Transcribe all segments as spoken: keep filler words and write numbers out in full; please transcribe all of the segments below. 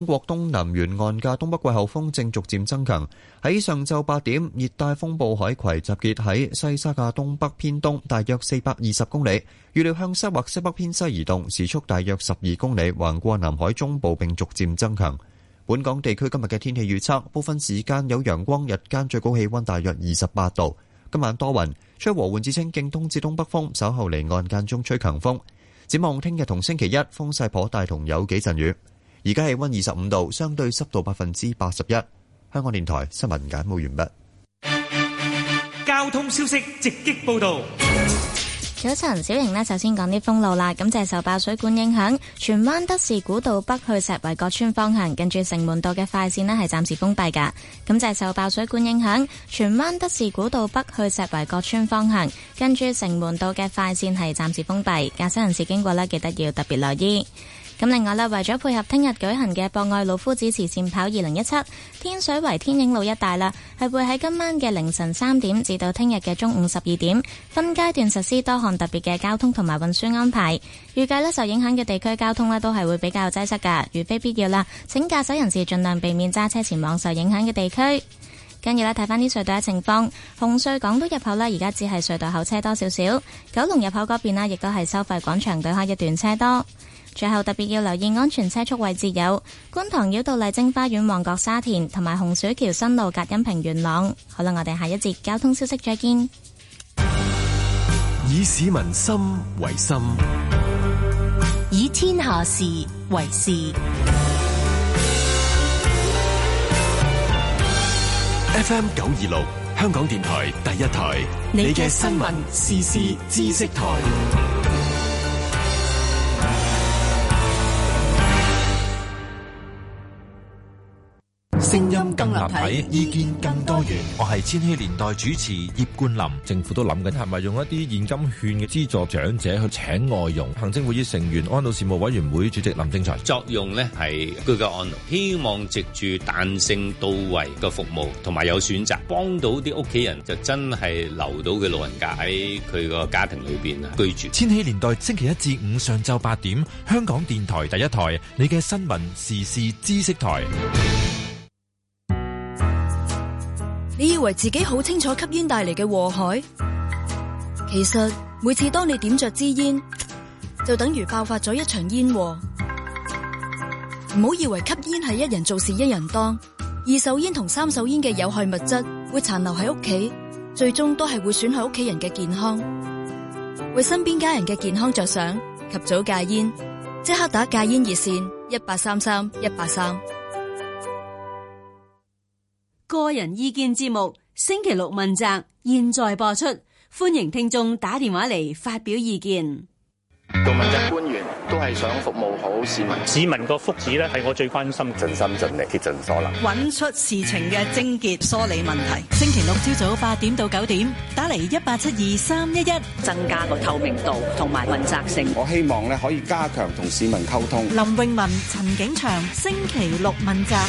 中國東南沿岸嘅東北季候風正逐漸增強，喺上晝八點，熱帶風暴海葵集結喺西沙嘅東北偏東，大約四百二十公里，預料向西或西北偏西移動，時速大約十二公里，橫過南海中部並逐漸增強。本港地區今日嘅天氣預測，部分時間有陽光，日間最高氣溫大約二十八度。今晚多雲，吹和緩至清勁東至東北風，稍後離岸間中吹強風。展望聽日同星期一，風勢頗大同有幾陣雨。而家氣溫二十五度，相對濕度百分之八十一。香港電台新聞簡報完畢。 交通消息直擊報道。 早晨，小瑩呢，首先講啲封路啦。咁就係受爆水管影響，荃灣德士古道北去石圍角村方向，近住城門道嘅快線呢係暫時封閉噶。咁就係受爆水管影響，荃灣德士古道北去石圍角村方向，近住城門道嘅快線係暫時封閉。駕駛人士經過呢，記得要特別留意。咁另外咧，為咗配合聽日舉行嘅博愛老夫子慈善跑二零一七，天水圍天影路一帶啦，係會喺今晚嘅凌晨三點至到聽日嘅中午十二點，分階段實施多項特別嘅交通同埋運輸安排。預計咧受影響嘅地區交通咧都係會比較擠塞噶，如非必要啦，請駕駛人士盡量避免揸車前往受影響嘅地區。跟住咧睇翻啲隧道嘅情況，紅隧港島入口呢，而家只係隧道口車多少少，九龍入口嗰邊呢，亦都係收費廣場對開一段車多。最後特別要留意安全車速位置有觀塘繞道麗晶花園、旺角沙田同埋洪水橋新路隔音屏元朗。好啦，我哋下一節交通消息再見。 以市民心為心， 以天下事為事。 F M 九二六香港電台第一台，你嘅新聞時事知識台。聲音更立體，意見更多元。 我係千禧年代主持葉冠霖。政府都諗緊係咪用一啲現金券嘅資助長者去請外傭。行政會議成員安老事務委員會主席林正財， 作用呢係居家安老，希望藉住彈性到位嘅服務同埋有選擇，幫到啲屋企人就真係留到嘅老人家喺佢個家庭裏邊啊居住。 千禧年代星期一至五上晝八點，香港電台第一台，你嘅新聞時事知識台。 你以為自己好清楚吸煙帶嚟嘅禍害？其實每次當你點着支煙，就等於爆發咗一場煙禍。唔好以為吸煙係一人做事一人當，二手煙同三手煙嘅有害物質會殘留喺屋企，最終都係會損害屋企人嘅健康。為身邊家人嘅健康着想，及早戒煙，即刻打戒煙熱線一八三三一八三。 個人意見節目星期六問責，現在播出，歡迎聽眾打電話嚟發表意見。 做問責官員都係想服務好市民， 市民個福祉咧係我最關心， 盡心盡力竭盡所能， 揾出事情嘅症結，梳理問題。星期六朝早八點到九點，打嚟一八七二三一一， 增加個透明度同埋問責性。 我希望咧可以加強同市民溝通。 林詠雯、陳景祥，星期六問責。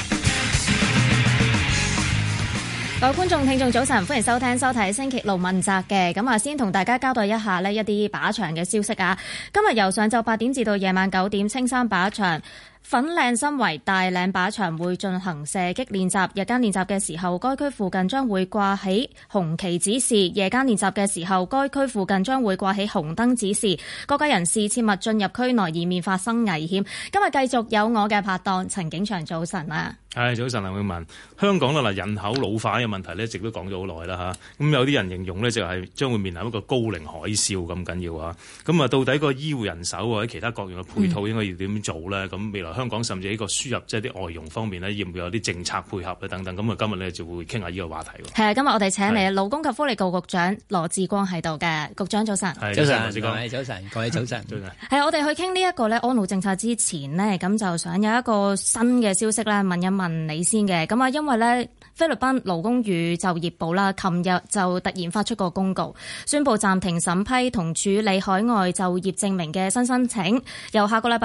各位觀眾、聽眾，早晨，歡迎收聽、收睇星期六問責嘅。咁啊，先同大家交代一下呢一啲靶場嘅消息啊。今日由上晝八點至到夜晚九點，青山靶場、粉嶺新圍、大嶺靶場會進行射擊練習。日間練習嘅時候，該區附近將會掛起紅旗指示；夜間練習嘅時候，該區附近將會掛起紅燈指示。各界人士切勿進入區內，以免發生危險。今日繼續有我嘅拍檔陳景祥，早晨啊！ 係早晨，林詠雯。香港啦嗱，人口老化嘅問題咧，一直都講咗好耐啦嚇。咁有啲人形容咧，就係將會面臨一個高齡海嘯咁緊要啊。咁啊，到底個醫護人手或者其他各樣嘅配套應該要點做咧？咁、嗯、未來香港甚至喺個輸入即係啲外傭方面咧，要唔要有啲政策配合咧等等？咁啊，今日咧就會傾下呢個話題喎。係啊， 今日我哋請嚟勞工及福利局局長羅致光喺度嘅。局長早晨。 早晨，羅致光。早晨，各位早晨。早晨。 係我哋去傾呢一個咧安老政策之前呢，咁就想有一個新嘅消息咧，問一問你先嘅。咁啊，因為咧菲律賓勞工與就業部啦，琴日就突然發出個公告，宣布暫停審批同處理海外就業證明嘅新申請，由下個禮拜一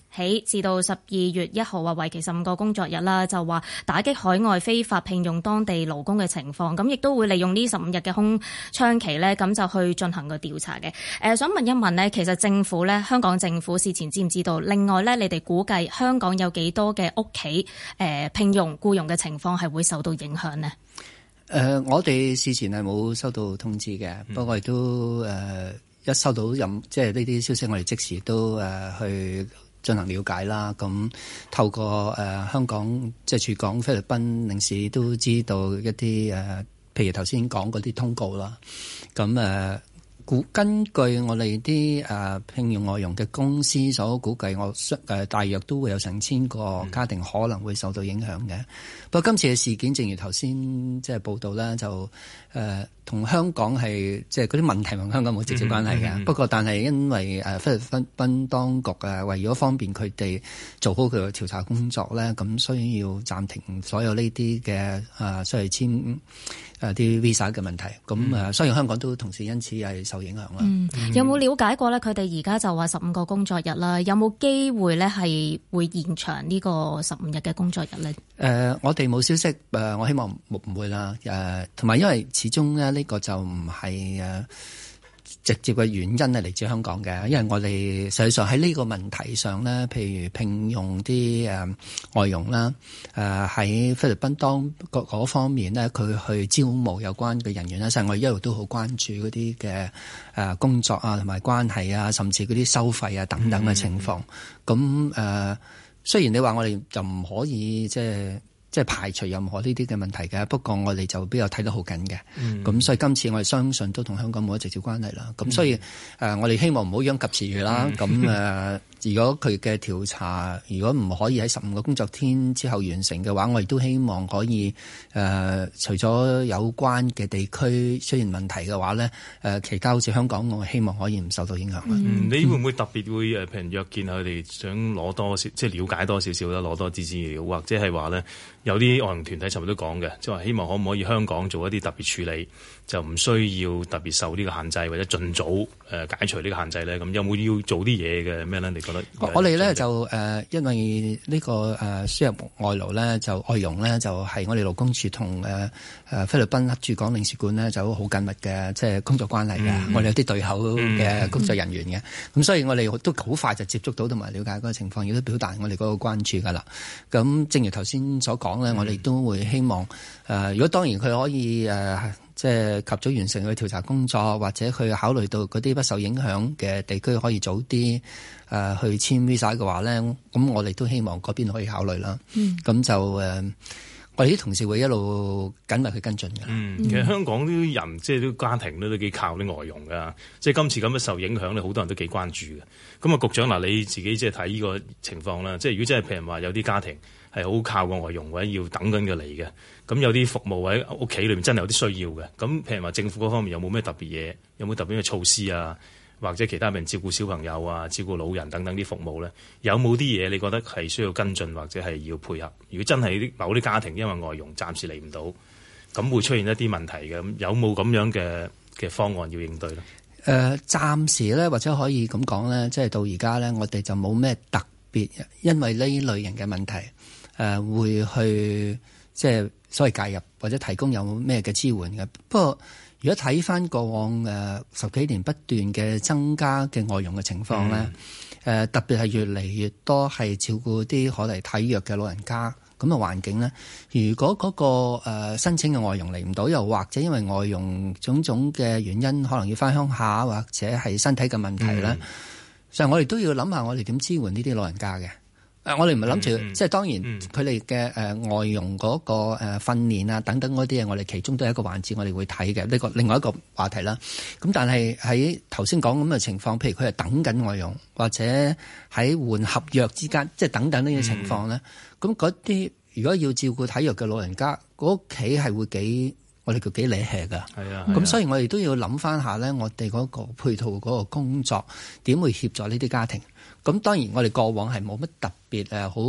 起至到十二月一號啊，為期十五個工作日啦，就話打擊海外非法聘用當地勞工嘅情況，咁亦都會利用呢十五日嘅空窗期呢，咁就去進行個調查嘅。誒、呃，想問一問呢，其實政府呢，香港政府事前知唔知道？另外呢，你哋估計香港有幾多嘅屋企誒聘用僱傭嘅情況係會受到影響呢？ 誒、呃，我哋事前係冇收到通知嘅，嗯、不過亦都誒、呃、一收到任即係呢啲消息，我哋即時都誒、呃、去進行了解啦。咁透過誒、呃、香港即係駐港菲律賓領事都知道一啲誒、呃，譬如頭先講嗰啲通告啦。咁誒。呃根據我哋啲誒聘用外傭嘅公司所估計，我誒、呃、大約都會有成千個家庭可能會受到影響嘅。不過今次嘅事件，正如頭先即係報道咧，就誒同、呃、香港係即係嗰啲問題同香港冇直接關係嘅。嗯嗯嗯、不過但係因為誒菲律賓當局誒為咗方便佢哋做好佢嘅調查工作咧，咁需要暫停所有呢啲嘅誒需要簽誒啲 visa 嘅問題。咁誒、嗯，所以香港都同時因此係受影響啦。 嗯，有冇了解過咧？佢哋而家就話十五個工作日啦，有冇機會咧係會延長呢個十五日嘅工作日咧？誒、 呃，我哋冇消息，誒、呃，我希望唔唔會啦。誒、呃，同埋因為始終咧呢個就唔係誒直接嘅原因係嚟自香港嘅，因為我哋實際上喺呢個問題上咧，譬如聘用啲誒、呃、外傭啦，誒、呃、喺菲律賓當嗰方面咧，佢去招募有關嘅人員咧，實際我哋一路都好關注嗰啲嘅誒工作啊，同埋關係啊，甚至嗰啲收費啊等等嘅情況。咁誒、嗯呃，雖然你話我哋就唔可以即係。即係排除任何呢啲嘅問題嘅，不過我哋就比較睇得好緊嘅。咁、嗯、所以今次我哋相信都同香港冇乜直接關係啦。咁、嗯、所以誒、呃，我哋希望唔好殃及池魚啦。咁誒、嗯呃，如果佢嘅調查如果唔可以喺十五個工作天之後完成嘅話，我亦都希望可以誒、呃，除咗有關嘅地區出現問題嘅話咧，誒、呃，其他好似香港，我希望可以唔受到影響。 嗯，你會唔會特別會誒，譬如約見佢哋，想攞多少，即係了解多少少啦，攞多啲資料，或者係話咧？有啲外傭團體尋日都講嘅，即係話希望可唔可以香港做一啲特別處理，就唔需要特別受呢個限制，或者盡早誒解除呢個限制咧。咁有冇要做啲嘢嘅咩咧？你覺得？ 我哋咧就誒、呃，因為呢、這個誒、呃、輸入外勞咧，就外傭咧就係、是、我哋勞工處同誒誒菲律賓駐港領事館咧就好緊密嘅即係工作關係嘅。嗯、我哋有啲對口嘅工作人員嘅，咁、嗯、所以我哋都好快就接觸到同埋了解嗰個情況，亦都表達我哋嗰個關注噶啦。咁正如頭先所講。講咧，我哋都會希望誒、呃，如果當然佢可以誒、呃，即係及早完成佢調查工作，或者佢考慮到嗰啲不受影響嘅地區可以早啲誒、呃、去簽 visa 嘅話咧，咁我哋都希望嗰邊可以考慮啦。嗯，咁就誒、呃，我哋啲同事會一路緊密去跟進嘅。 嗯，其實香港啲人即係啲家庭咧都幾靠啲外傭㗎，即係今次咁樣受影響咧，好多人都幾關注嘅。咁啊，局長嗱，你自己即係睇呢個情況啦，即係如果真係譬如話有啲家庭係好靠個外傭或者要等緊佢嚟嘅，咁有啲服務喺屋企裏面真係有啲需要嘅，咁譬如話政府嗰方面有冇咩特別嘢，有冇特別嘅措施啊，或者其他人照顧小朋友啊、照顧老人等等啲服務咧，有冇啲嘢你覺得係需要跟進或者係要配合？如果真係啲某啲家庭因為外傭暫時嚟唔到，咁會出現一啲問題嘅，咁有冇咁樣嘅嘅方案要應對咧？誒、 呃，暫時咧或者可以咁講咧，即係到而家咧，我哋就冇咩特別，因為呢類型嘅問題。誒、呃、會去即係所謂介入或者提供有咩嘅支援嘅。不過如果睇翻過往誒、呃、十幾年不斷嘅增加嘅外傭嘅情況咧，誒、嗯呃、特別係越嚟越多係照顧啲可能體弱嘅老人家咁嘅環境咧。如果嗰、那個、呃、申請嘅外傭嚟唔到，又或者因為外傭種種嘅原因，可能要翻鄉下或者係身體嘅問題咧，所以、嗯、我哋都要諗下我哋點支援呢啲老人家嘅。誒，我哋唔係諗住，嗯、即係當然佢哋嘅誒外傭嗰個誒訓練啊等等嗰啲嘢，我哋其中都係一個環節，我哋會睇嘅呢個另外一個話題啦。咁但係喺頭先講咁嘅情況，譬如佢係等緊外傭，或者喺換合約之間，即係等等呢啲情況咧。咁嗰啲如果要照顧體弱嘅老人家，嗰屋企係會幾我哋叫幾理氣㗎。係啊，咁所以我哋都要諗翻下咧，我哋嗰個配套嗰個工作點會協助呢啲家庭。咁當然我哋過往係冇乜特別誒好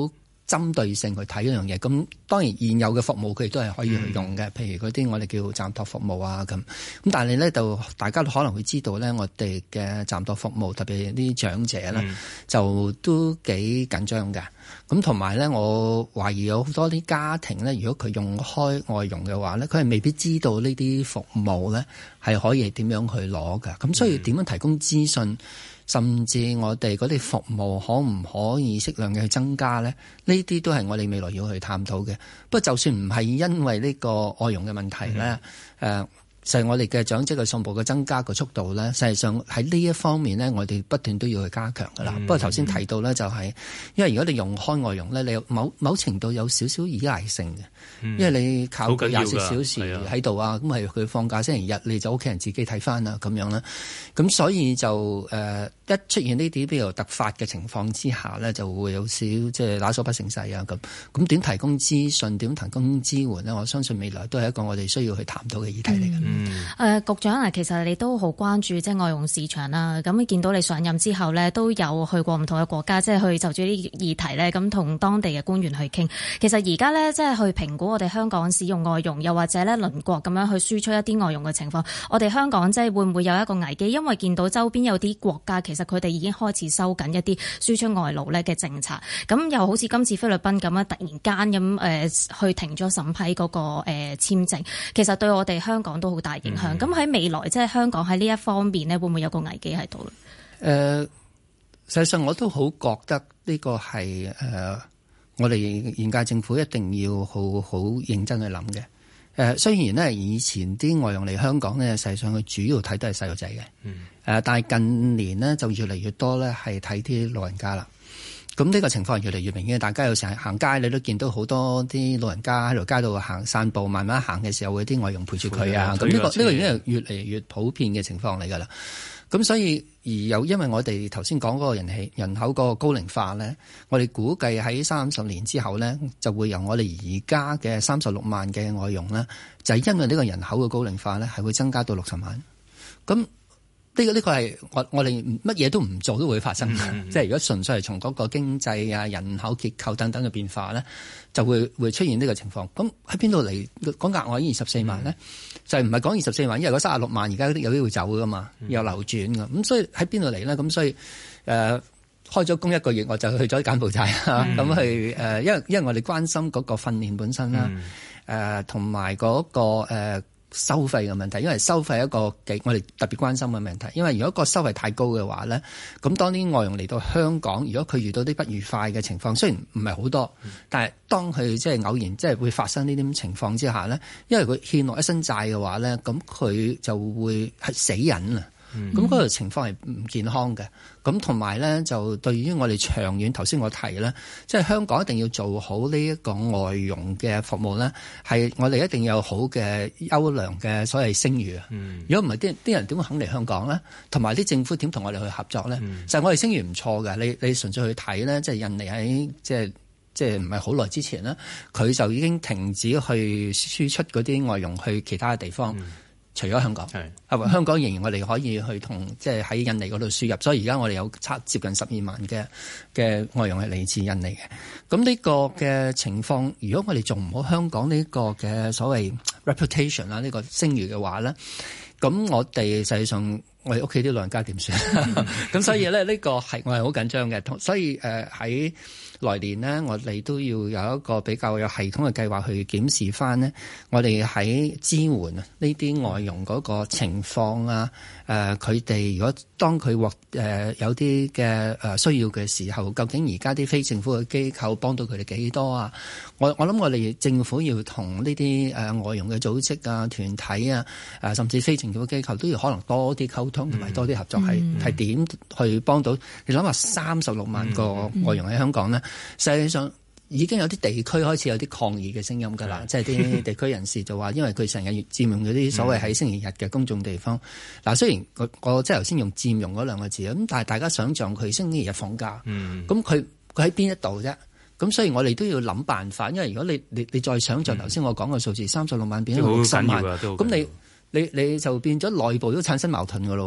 針對性去睇一樣嘢。咁當然現有嘅服務佢哋都係可以去用嘅，譬如嗰啲我哋叫暫託服務啊咁。咁但係咧就大家都可能會知道咧，我哋嘅暫託服務特別啲長者咧、嗯、就都幾緊張嘅。咁同埋咧，我懷疑有好多啲家庭咧，如果佢用開外傭嘅話咧，佢係未必知道呢啲服務咧係可以點樣去攞㗎。咁所以點樣提供資訊？甚至我哋嗰啲服務可唔可以適量嘅去增加咧？呢啲都係我哋未來要去探討嘅。不過就算唔係因為呢個外傭嘅問題咧，誒、嗯，就係、呃、我哋嘅長者嘅數目嘅增加嘅速度咧，實際上喺呢一方面咧，我哋不斷都要去加強噶啦。嗯、不過頭先提到咧，就係、是、因為如果你用開外傭咧，你有某某程度有少少依賴性嘅。因為你靠佢廿四小時喺度啊，咁係佢放假星期日你就屋企人自己睇翻啊咁樣啦，咁所以就誒、呃、一出現呢啲比較突發嘅情況之下咧，就會有少即係打手不成勢啊咁。咁點提供資訊，點提供支援呢？我相信未來都係一個我哋需要去談到嘅議題嚟嘅。誒、 嗯呃，局長啊，其實你都好關注即係外傭市場啦。咁見到你上任之後呢，都有去過唔同嘅國家，即係去就住呢啲議題呢，咁同當地嘅官員去傾。其實而家呢，即係去評估我哋香港使用外傭，又或者咧鄰國咁樣去輸出一啲外傭嘅情況，我哋香港即係會唔會有一個危機？因為見到周邊有啲國家其實佢哋已經開始收緊一啲輸出外勞咧嘅政策，咁又好似今次菲律賓咁樣突然間咁誒、呃、去停咗審批嗰、那個誒、呃、簽證，其實對我哋香港都好大影響。咁喺、嗯、未來即係香港喺呢一方面咧，會唔會有個危機喺度咧？誒、 呃，實際上我都好覺得呢個係誒。呃我哋現屆政府一定要好好認真去諗嘅。誒，雖然呢，以前啲外傭嚟香港呢，實際上佢主要睇都係細路仔嘅。誒、嗯，但係近年呢，就越嚟越多呢係睇啲老人家啦。咁呢個情況係越嚟越明顯，大家有時行街你都見到好多啲老人家喺條街度行散步，慢慢行嘅時候會啲外傭陪住佢啊。咁呢、呢個呢、呢個已經係越嚟越普遍嘅情況嚟㗎啦。咁所以而有因為我哋頭先講嗰個人氣人口嗰個高齡化咧，我哋估計喺三十年之後咧，就會由我哋而家嘅三十六萬嘅外傭咧，就係、是、因為呢個人口嘅高齡化咧，係會增加到六十萬。咁呢、這個呢、這個係我我哋乜嘢都唔做都會發生嘅，嗯、即係如果純粹係從嗰個經濟啊、人口結構等等嘅變化咧，就會會出現呢個情況。咁喺邊度嚟講額外二十四萬咧？嗯、就係唔係講二十四萬，因為嗰三十六萬而家有啲會走噶嘛，有流轉噶。咁、嗯、所以喺邊度嚟咧？咁所以誒、呃、開咗工一個月我就去咗柬埔寨啊，咁、嗯、去誒、呃，因為因為我哋關心嗰個訓練本身啦，誒同埋嗰個誒。呃收費嘅問題，因為收費係一個幾我哋特別關心嘅問題。因為如果個收費太高嘅話咧，咁當啲外傭嚟到香港，如果佢遇到啲不愉快嘅情況，雖然唔係好多，嗯、但係當佢即係偶然即係會發生呢啲情況之下咧，因為佢欠落一身債嘅話咧，咁佢就會係死人啊！咁嗰個情況係唔健康嘅。咁同埋咧，就對於我哋長遠，頭先我提咧，即係香港一定要做好呢一個外傭嘅服務咧，係我哋一定要有好嘅優良嘅所謂聲譽啊。如果唔係，啲啲人點會肯嚟香港咧？同埋啲政府點同我哋去合作咧？嗯、就係我哋聲譽唔錯嘅。你你純粹去睇咧，即係印尼喺即係即係唔係好耐之前咧，佢就已經停止去輸出嗰啲外傭去其他嘅地方。嗯除咗香港，係是香港仍然我哋可以去同即係喺印尼嗰度輸入，所以而家我哋有差接近十二萬嘅嘅外傭係嚟自印尼嘅。咁呢個嘅情況，如果我哋做唔好香港呢個嘅所謂 reputation 啦，呢個聲譽嘅話咧，咁我哋實際上我哋屋企啲老人家點算？咁所以咧呢個係我係好緊張嘅，所以誒喺。呃來年呢，我哋都要有一個比較有系統嘅計劃去檢視翻呢，我哋喺支援啊呢啲外傭嗰個情況啊，誒佢哋如果當佢獲誒有啲嘅誒需要嘅時候，究竟而家啲非政府嘅機構幫到佢哋幾多啊？我我諗我哋政府要同呢啲誒外傭嘅組織啊、團體啊、誒甚至非政府機構都要可能多啲溝通同埋多啲合作，係係點去幫到？你諗下三十六萬個外傭喺香港呢。實際上已經有啲地區開始有啲抗議嘅聲音㗎啦，的即係啲地區人士就話，因為佢成日佔用嗰啲所謂喺星期日嘅公眾地方。嗱、嗯，雖然我我即係頭先用佔用嗰兩個字，咁但係大家想像佢星期日放假，咁佢佢喺邊一度啫？咁所以我哋都要諗辦法，因為如果你你你再想像頭先我講嘅數字，三十六萬變咗六十萬，咁你你你就變咗內部都產生矛盾㗎咯喎。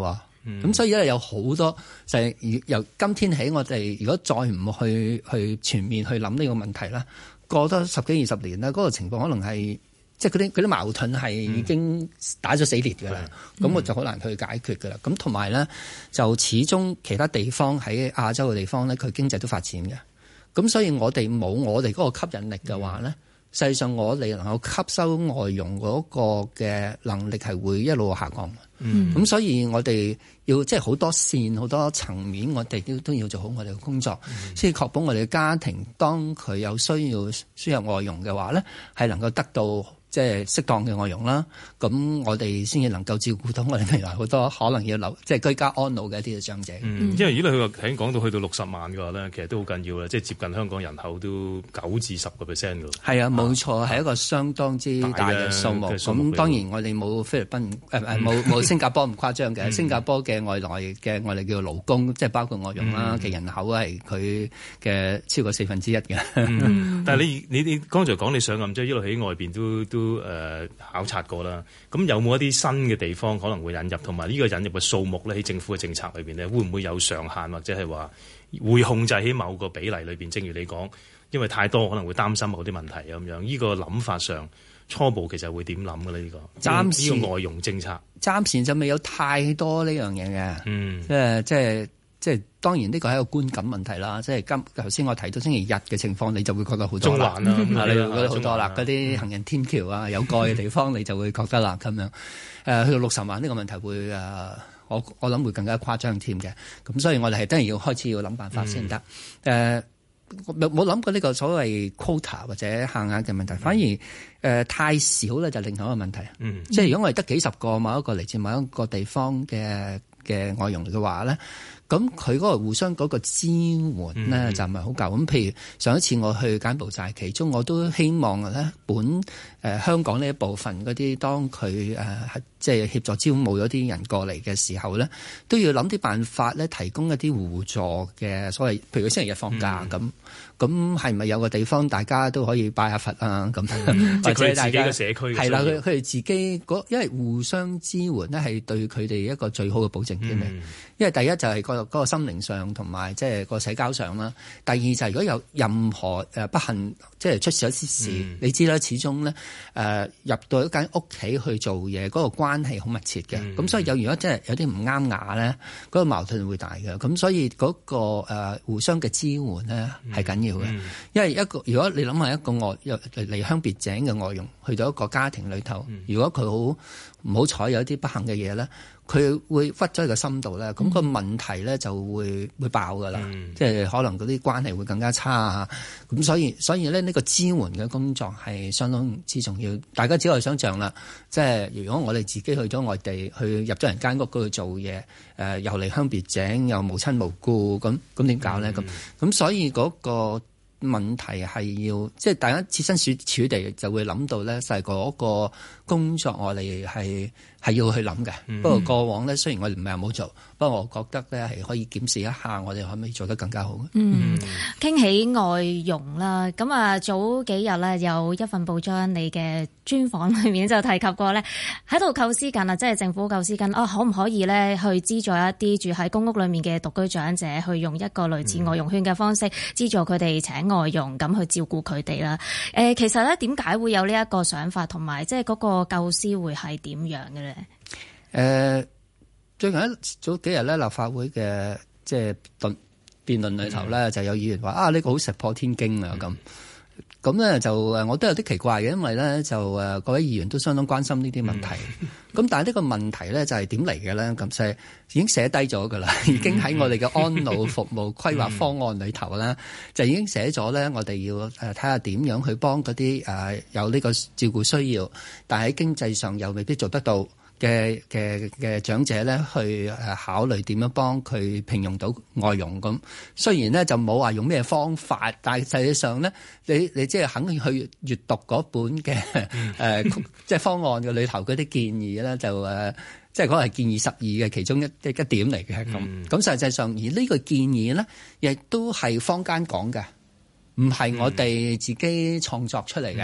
咁、嗯、所以咧有好多就係由今天起，我哋如果再唔去去全面去諗呢個問題啦，過多十幾二十年啦，嗰、那個情況可能係即係嗰啲嗰啲矛盾係已經打咗死裂㗎啦，咁、嗯、我就好難去解決㗎啦。咁同埋咧，就始終其他地方喺亞洲嘅地方咧，佢經濟都發展嘅，咁所以我哋冇我哋嗰個吸引力嘅話咧。嗯實際上，我哋能夠吸收外傭嗰個嘅能力係會一路下降嘅。嗯，咁所以我哋要即係好多線、好多層面，我哋都都要做好我哋嘅工作，先至確保我哋嘅家庭當佢有需要輸入外傭嘅話咧，係能夠得到即係適當嘅外傭啦。咁我哋先至能夠照顧到我哋未來好多可能要留即係居家安老嘅一啲嘅長者。 嗯，因為如果你佢話喺講到去到六十萬嘅話咧，其實都好緊要啦，即係接近香港人口都九至十個 percent 㗎。係啊，冇錯，係一個相當之大嘅數目。咁當然我哋冇菲律賓誒誒冇冇新加坡咁誇張嘅。新加坡嘅外來嘅我哋叫勞工，即係包括外傭啦嘅人口係佢嘅超過四分之一嘅。 嗯、但係你你你剛才講你上任即係一路喺外邊都都誒、呃、考察過啦。咁有冇一啲新嘅地方可能會引入，同埋呢個引入嘅數目咧喺政府嘅政策裏邊咧，會唔會有上限，或者係話會控制喺某個比例裏邊？正如你講，因為太多可能會擔心某啲問題咁樣。呢、這個諗法上初步其實會點諗嘅咧？呢、這個暫時呢個外傭政策暫時就未有太多呢樣嘢嘅。嗯，即係即係即係當然呢個係一個觀感問題啦。即係今頭先我提到星期日嘅情況，你就會覺得好多啦。中環啦，啊、你會覺得好多啦。嗰啲行人天橋啊，有蓋嘅地方，你就會覺得啦咁樣。誒、呃，去到六十萬呢個問題會誒、呃，我我諗會更加誇張添嘅。咁所以我哋係當然要開始要諗辦法先得。誒、嗯。呃冇冇諗過呢個所謂 quota 或者限額嘅問題，反而誒、呃、太少咧就另外一個問題。嗯，即係如果我哋得幾十個某一個嚟自某一個地方嘅嘅外傭嘅話咧，咁佢嗰個互相嗰個支援咧就唔係好夠。咁、嗯、譬如上一次我去柬埔寨，其中我都希望咧本誒、呃、香港呢一部分嗰啲，當佢誒、呃、即係協助招募咗啲人過嚟嘅時候咧，都要諗啲辦法咧，提供一啲互助嘅所謂，譬如佢星期日放假咁。嗯咁係咪有個地方大家都可以拜下佛啊？咁、嗯、 即係佢自己嘅社區係啦，佢佢哋自己嗰，因為互相支援咧係對佢哋一個最好嘅保證添、嗯、因為第一就係個嗰個心靈上同埋即係個社交上啦。第二就係如果有任何誒不幸即係出事咗啲事，嗯、你知啦，始終咧誒、呃、入到一間屋企去做嘢，嗰、嗰個關係好密切嘅。咁、嗯、所以有如果真係有啲唔啱牙咧，嗰、嗰個矛盾會大嘅。咁所以嗰、嗰個、呃、互相嘅支援咧係緊要。嗯、因為一個如果你諗下一個外離鄉別井嘅外傭去到一個家庭裏頭，嗯、如果佢好唔好彩有一啲不幸嘅嘢咧，佢會屈咗喺個心度咧，咁、嗯、個問題咧就會會爆噶啦，嗯、即係可能嗰啲關係會更加差啊！咁所以所以咧呢個支援嘅工作係相當之重要。大家只可以想象啦，即係如果我哋自己去咗外地，去入咗人間屋嗰度做嘢，誒、呃、又離鄉別井，又無親無故，咁咁點搞咧？咁咁、嗯、所以嗰、嗰個問題係要，即係大家設身處處地就會諗到咧，就係嗰個工作我哋係係要去諗嘅。嗯、不過過往咧，雖然我哋唔係冇做，不過我覺得咧係可以檢視一下，我哋可唔可以做得更加好。 嗯，傾、嗯、起外傭啦，咁啊早幾日咧有一份報章你嘅專訪裏面就提及過咧，喺度構思緊啊，即係政府構思緊啊，可唔可以咧去資助一啲住喺公屋裏面嘅獨居長者，去用一個類似外傭券嘅方式資助佢哋請外傭咁去照顧佢哋啦。誒，其實咧點解會有呢一個想法，同埋即係嗰個構思會係點樣嘅咧？誒、 呃，最近一早幾日咧，立法會嘅即係辯辯論裏頭咧，嗯、就有議員話啊，呢、這個好石破天驚啊咁。咁咧、嗯、就誒，我都有啲奇怪嘅，因為咧就誒各位議員都相當關心呢啲問題。咁、嗯、但係呢個問題咧就係點嚟嘅咧？咁就係已經寫低咗㗎啦，已經喺我哋嘅安老服務規劃方案裏頭咧，嗯、就已經寫咗咧，我哋要誒睇下點樣去幫嗰啲誒有呢個照顧需要，但係喺經濟上又未必做得到嘅嘅嘅長者咧，去誒考慮點樣幫佢聘用到外傭咁。雖然咧就冇話用咩方法，但係實際上咧，你你即係肯去閱讀嗰本嘅誒、呃、即係方案嘅裏頭嗰啲建議咧，就誒即係嗰個係建議十二嘅其中一一一點嚟嘅咁。咁、嗯、實際上而呢個建議咧，亦都係坊間講嘅，唔係我哋自己創作出嚟嘅。誒、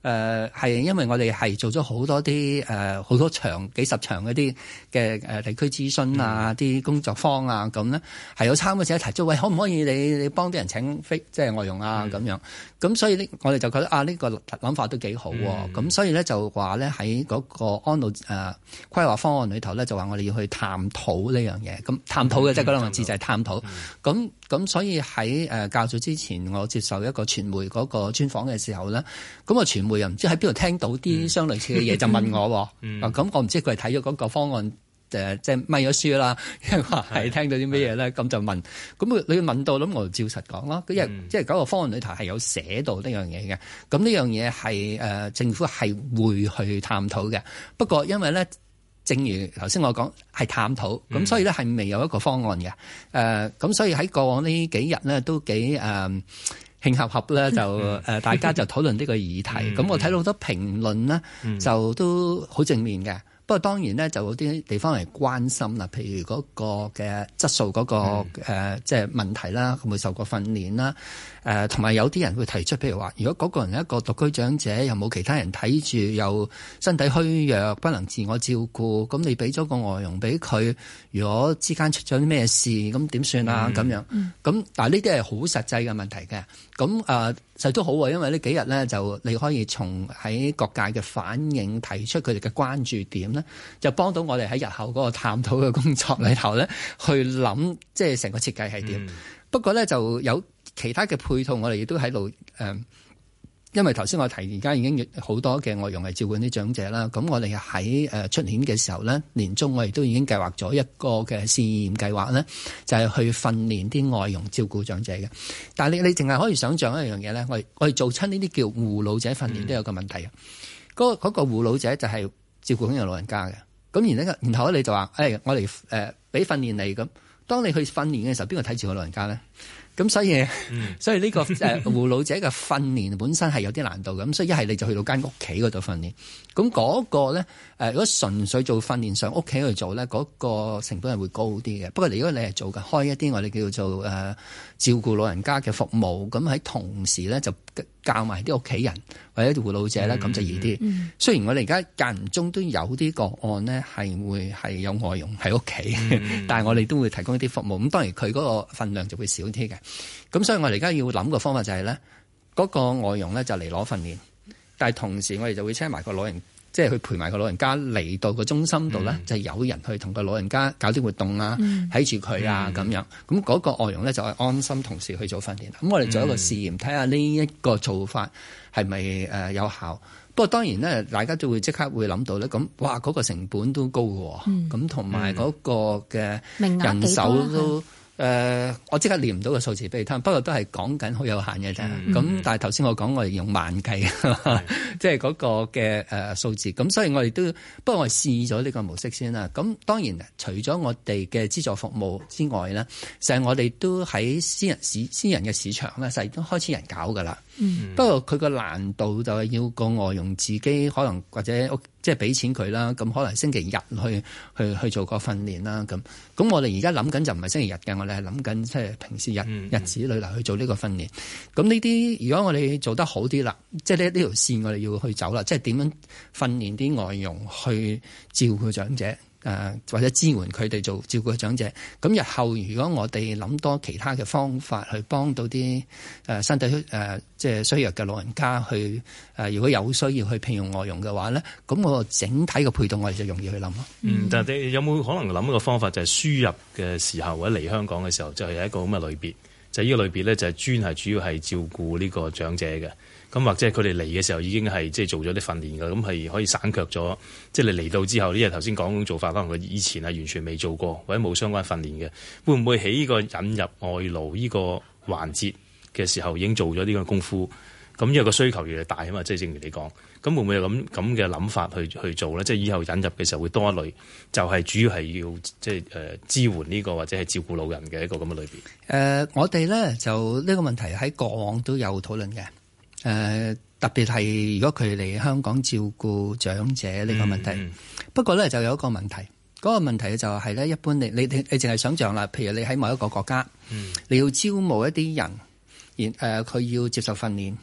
誒係因為我哋係做咗好多啲誒好多場幾十場嗰啲嘅誒地區諮詢啊，啲、嗯、工作坊啊咁咧，係有參與者提出，喂，可唔可以你你幫啲人請飛即係外傭啊咁、嗯、樣？咁所以呢，我哋就覺得啊，呢、呢個諗法都幾好喎。咁、嗯、所以咧就話咧喺嗰個安老誒、呃、規劃方案裏頭咧，就話我哋要去探討呢樣嘢。咁探討嘅即係嗰兩個字就係探討。咁咁、嗯、所以喺誒較早之前，我接受一個傳媒嗰個專訪嘅時候咧，咁個傳媒又唔知喺邊度聽到啲相類似嘅嘢，就問我。嗯。咁、啊、我唔知佢係睇咗嗰個方案。誒即係咪咗書啦？因為話係聽到啲咩嘢咧，咁就問。咁你問到，咁我就照實講咯。因為、嗯、即係嗰個方案裏頭係有寫到呢樣嘢嘅。咁呢樣嘢係誒政府係會去探討嘅。不過因為咧，正如頭先我講係探討，咁、嗯、所以咧係未有一個方案嘅。誒、呃、咁所以喺過往呢幾日咧都幾誒慶合合咧，就誒、嗯、大家就討論呢個議題。咁、嗯、我睇到好多評論咧、嗯，就都好正面嘅。不過當然咧，就有啲地方係關心啦，譬如嗰個嘅質素嗰、嗰個誒、嗯呃、即係問題啦，會唔會受過訓練啦？誒同埋有啲人會提出，譬如話，如果嗰個人係一個獨居長者，又冇其他人睇住，又身體虛弱，不能自我照顧，咁你俾咗個外傭俾佢，如果之間出咗啲咩事，咁點算啊？咁、嗯、樣，咁、嗯、但係呢啲係好實際嘅問題嘅。咁誒、呃，實都好喎，因為呢幾日咧，就你可以從喺各界嘅反應提出佢哋嘅關注點咧，就幫到我哋喺日後嗰個探討嘅工作裏頭咧，去諗即係成個設計係點、嗯。不過咧就有其他嘅配套，我哋亦都喺度誒，因為頭先我提而家已經好多嘅外傭係照顧啲長者啦。咁我哋喺誒出年嘅時候咧，年中我哋都已經計劃咗一個嘅試驗計劃咧，就係去訓練啲外傭照顧長者嘅。但係你你淨係可以想象一樣嘢咧，我哋我哋做親呢啲叫護老者訓練都有個問題嘅。嗰、嗯嗰個護老者就係照顧緊個老人家嘅。咁然後然後咧你就話誒、哎，我哋誒俾訓練你咁。當你去訓練嘅時候，邊個睇住個老人家咧？咁所以，嗯、所以呢個誒護老者嘅訓練本身係有啲難度嘅。咁所以一係你就去到間屋企嗰度訓練。咁嗰個咧誒，如果純粹做訓練上屋企去做咧，嗰、嗰個成本係會高啲嘅。不過如果你係做嘅開一啲我哋叫做誒、呃、照顧老人家嘅服務，咁喺同時咧就教埋啲屋企人或者護老者咧，咁、嗯、就易啲、嗯。雖然我哋而家間唔中都有啲個案呢係會係有外傭喺屋企，嗯、但係我哋都會提供一啲服務。咁當然佢嗰個份量就會少啲嘅。咁所以我哋而家要諗個方法就係咧，嗰個外傭咧就嚟攞訓練，但係同時我哋就會請埋個老人，即係去陪埋個老人家嚟到個中心度咧、嗯，就有人去同個老人家搞啲活動啊，睇住佢啊咁樣。咁嗰個外傭咧就係安心同時去做訓練。咁我哋做一個試驗，睇下呢一個做法係咪誒有效。不過當然咧，大家都會即刻會諗到咧，咁哇嗰個成本都高嘅，咁同埋嗰個嘅人手都。誒、呃，我即刻念唔到個數字俾你聽，不過都係講緊好有限嘅啫。咁、嗯、但係頭先我講我哋用萬計，即係嗰個嘅誒數字。咁所以我哋都，不過我哋試咗呢個模式先啦。咁當然除咗我哋嘅資助服務之外咧，成日我哋都喺私人市私人嘅市場咧，實都開始人搞噶啦。嗯、不過佢個難度就係要個外傭自己可能或者屋即係俾錢佢啦，咁可能星期日去去去做個訓練啦，咁咁我哋而家諗緊就唔係星期日嘅，我哋係諗緊即係平時日、嗯、日子裏嚟去做呢個訓練。咁呢啲如果我哋做得好啲啦，即係呢呢條線我哋要去走啦，即係點樣訓練啲外傭去照顧長者。誒、呃、或者支援佢哋做照顧長者，咁日後如果我哋諗多其他嘅方法去幫到啲誒、呃、身體誒、呃、即係衰弱嘅老人家去誒、呃，如果有需要去聘用外傭嘅話咧，咁我整體嘅配套我哋就容易去諗咯。 嗯，但係你有冇可能諗一個方法，就係輸入嘅時候或者嚟香港嘅時候，就係有一個咁嘅類別，就係、是、呢個類別咧就係專係主要係照顧呢個長者嘅。咁或者係佢哋嚟嘅時候已經係即係做咗啲訓練㗎，咁係可以省卻咗。即係你嚟到之後，呢日頭先講做法，可能佢以前係完全未做過或者冇相關訓練嘅，會唔會喺呢個引入外勞呢個環節嘅時候已經做咗呢個功夫？咁因為個需求越嚟越大啊嘛，即係正如你講，咁會唔會有咁咁嘅諗法去去做咧？即係以後引入嘅時候會多一類，就係、是、主要係要即係誒、呃、支援呢、這個或者係照顧老人嘅一個咁嘅類別。誒、 呃，我哋咧就呢個問題喺過往都有討論嘅。誒、呃、特別係如果佢嚟香港照顧長者呢個問題，嗯嗯、不過咧就有一個問題，嗰、那個問題就係咧，一般你你你你淨係想像啦，譬如你喺某一個國家，嗯、你要招募一啲人，然誒佢要接受訓練，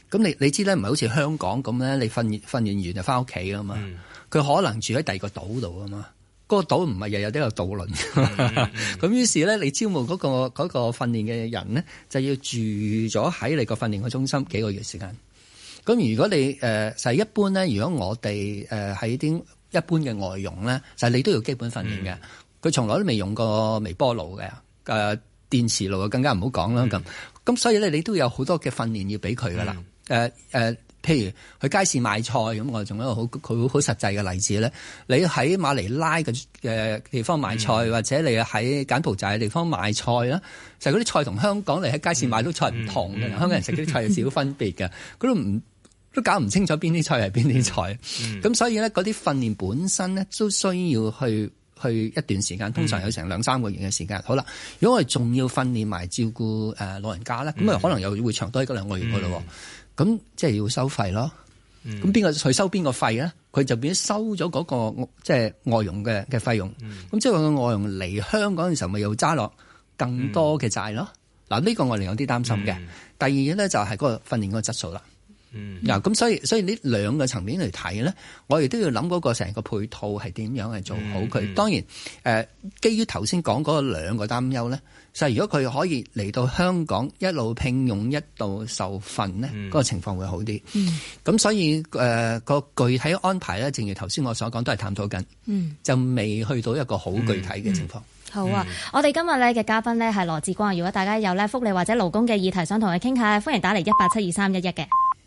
咁你你知咧，唔係好似香港咁咧，你訓訓練完就翻屋企啊嘛。佢、嗯、可能住喺第二個島度啊嘛。嗰、那個島唔係日日都有渡輪。咁、嗯嗯、於是咧，你招募嗰、那個嗰、那個訓練嘅人咧，就要住咗喺你個訓練嘅中心幾個月時間。咁如果你誒、呃、就係一般咧，如果我哋誒喺啲一般嘅外傭咧，就係、是、你都要基本訓練嘅。佢、嗯、從來都未用過微波爐嘅，誒、呃、電磁爐更加唔好講啦。咁、嗯、咁所以咧，你都有好多嘅訓練要俾佢噶啦。誒、嗯、誒。呃呃譬如去街市買菜咁，我仲有一個好佢好實際嘅例子咧。你喺馬尼拉嘅嘅地方買菜，嗯、或者你喺柬埔寨嘅地方買菜啦，就係嗰啲菜同香港你喺街市買到菜唔同嘅、嗯嗯。香港人食啲菜有少少分別嘅，佢都唔都搞唔清楚邊啲菜係邊啲菜。咁、嗯、所以咧，嗰啲訓練本身咧都需要去去一段時間，通常有成兩三個月嘅時間。好啦，如果我哋仲要訓練埋照顧誒老人家咧，咁、嗯、啊可能又會長多一兩個月嘅咯。咁即係要收費咯。咁邊個去收邊個費咧？佢就變咗收咗嗰、嗰個即係外傭嘅嘅費用。咁、嗯、即係話個外傭嚟香港嘅時候，咪又揸落更多嘅債咯。嗱、嗯，呢個我哋有啲擔心嘅、嗯。第二嘢咧就係嗰個訓練嗰個質素啦。嗱、嗯，咁所以所以呢兩個層面嚟睇咧，我哋都要諗嗰個成個配套係點樣去做好佢、嗯嗯。當然，誒、呃，基於頭先講嗰兩個擔憂咧，就係如果佢可以嚟到香港一路聘用一度受訓咧，嗰、嗯嗰個情況會好啲。咁、嗯、所以誒、呃嗰個具體安排咧，正如頭先我所講，都係探討緊、嗯，就未去到一個好具體嘅情況。嗯嗯好啊！嗯、我哋今日咧嘅嘉賓咧係羅致光。如果大家有咧福利或者勞工嘅議題想同佢傾下，歡迎打嚟一八七二三一一嘅。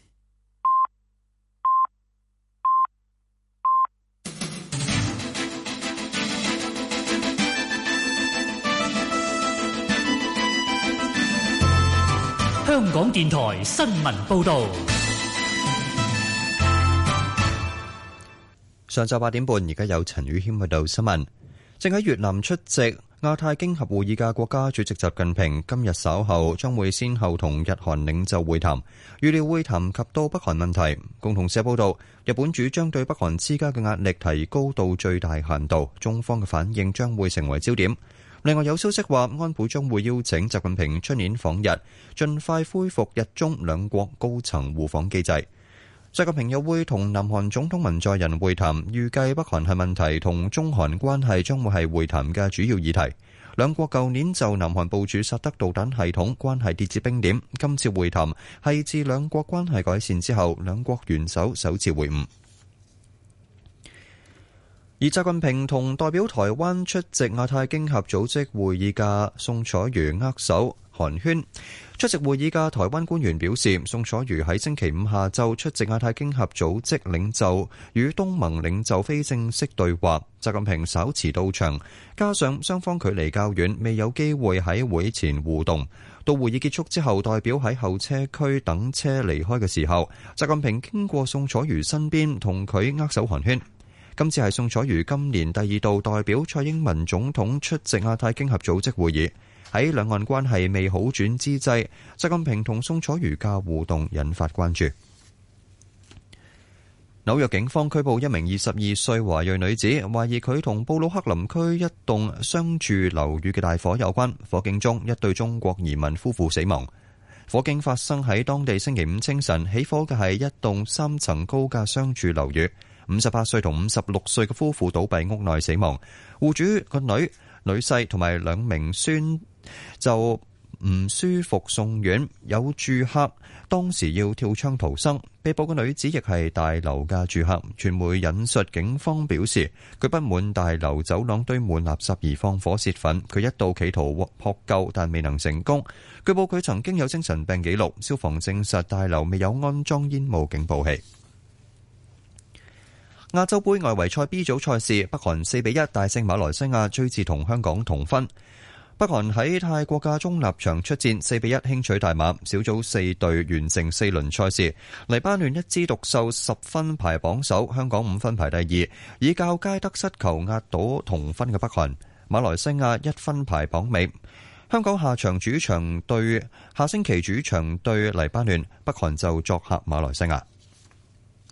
香港電台新聞報道。 上晝八點半，而家有陳宇謙報道新聞。正喺越南出席亞太經合會議嘅國家主席習近平，今日稍後將會先後同日韓領袖會談，預料會談及到北韓問題。共同社報道，日本主張對北韓施加嘅壓力提高到最大限度，中方嘅反應將會成為焦點。另外有消息話，安倍將會邀請習近平出年訪日，盡快恢復日中兩國高層互訪機制。習近平又會同南韓總統文在寅會談，預計北韓核問題同中韓關係將會係會談嘅主要議題。兩國舊年就南韓部署薩德導彈系統關係跌至冰點，今次會談係自兩國關係改善之後，兩國元首首次會晤。而習近平同代表台灣出席亞太經合組織會議嘅宋楚瑜握手寒暄。出席會議嘅台灣官員表示，宋楚瑜喺星期五下晝出席亞太經合組織領袖與東盟領袖非正式對話，習近平稍遲到場，加上雙方距離較遠，未有機會喺會前互動。到會議結束之後，代表喺候車區等車離開嘅時候，習近平經過宋楚瑜身邊同佢握手寒暄。今次係宋楚瑜今年第二度代表蔡英文總統出席亞太經合組織會議。喺兩岸關係未好轉之際，習近平同宋楚瑜嘅互動引發關注。紐約警方拘捕一名二十二歲華裔女子，懷疑佢同布魯克林區一棟商住樓宇嘅大火有關。火警中，一對中國移民夫婦死亡。火警發生喺當地星期五清晨，起火嘅係一棟三層高嘅商住樓宇。五十八歲同五十六歲嘅夫婦倒斃屋內死亡，戶主個女、女婿同埋兩名孫就唔舒服送院。有住客當時要跳窗逃生。被捕嘅女子亦係大樓嘅住客。傳媒引述警方表示，佢不滿大樓走廊堆滿垃圾而放火泄憤，佢一度企圖撲救但未能成功。據報佢曾經有精神病記錄。消防證實大樓未有安裝煙霧警報器。亞洲盃外圍賽 B 組賽事，北韓四比一大勝馬來西亞，追至同香港同分。北韓喺泰國嘅中立場出戰，四比一輕取大馬。小組四隊完成四輪賽事，黎巴嫩一枝獨秀，十分排榜首，香港五分排第二，以較佳得失球壓倒同分嘅北韓。馬來西亞一分排榜尾。香港下場主場對下星期主場對黎巴嫩，北韓就作客馬來西亞。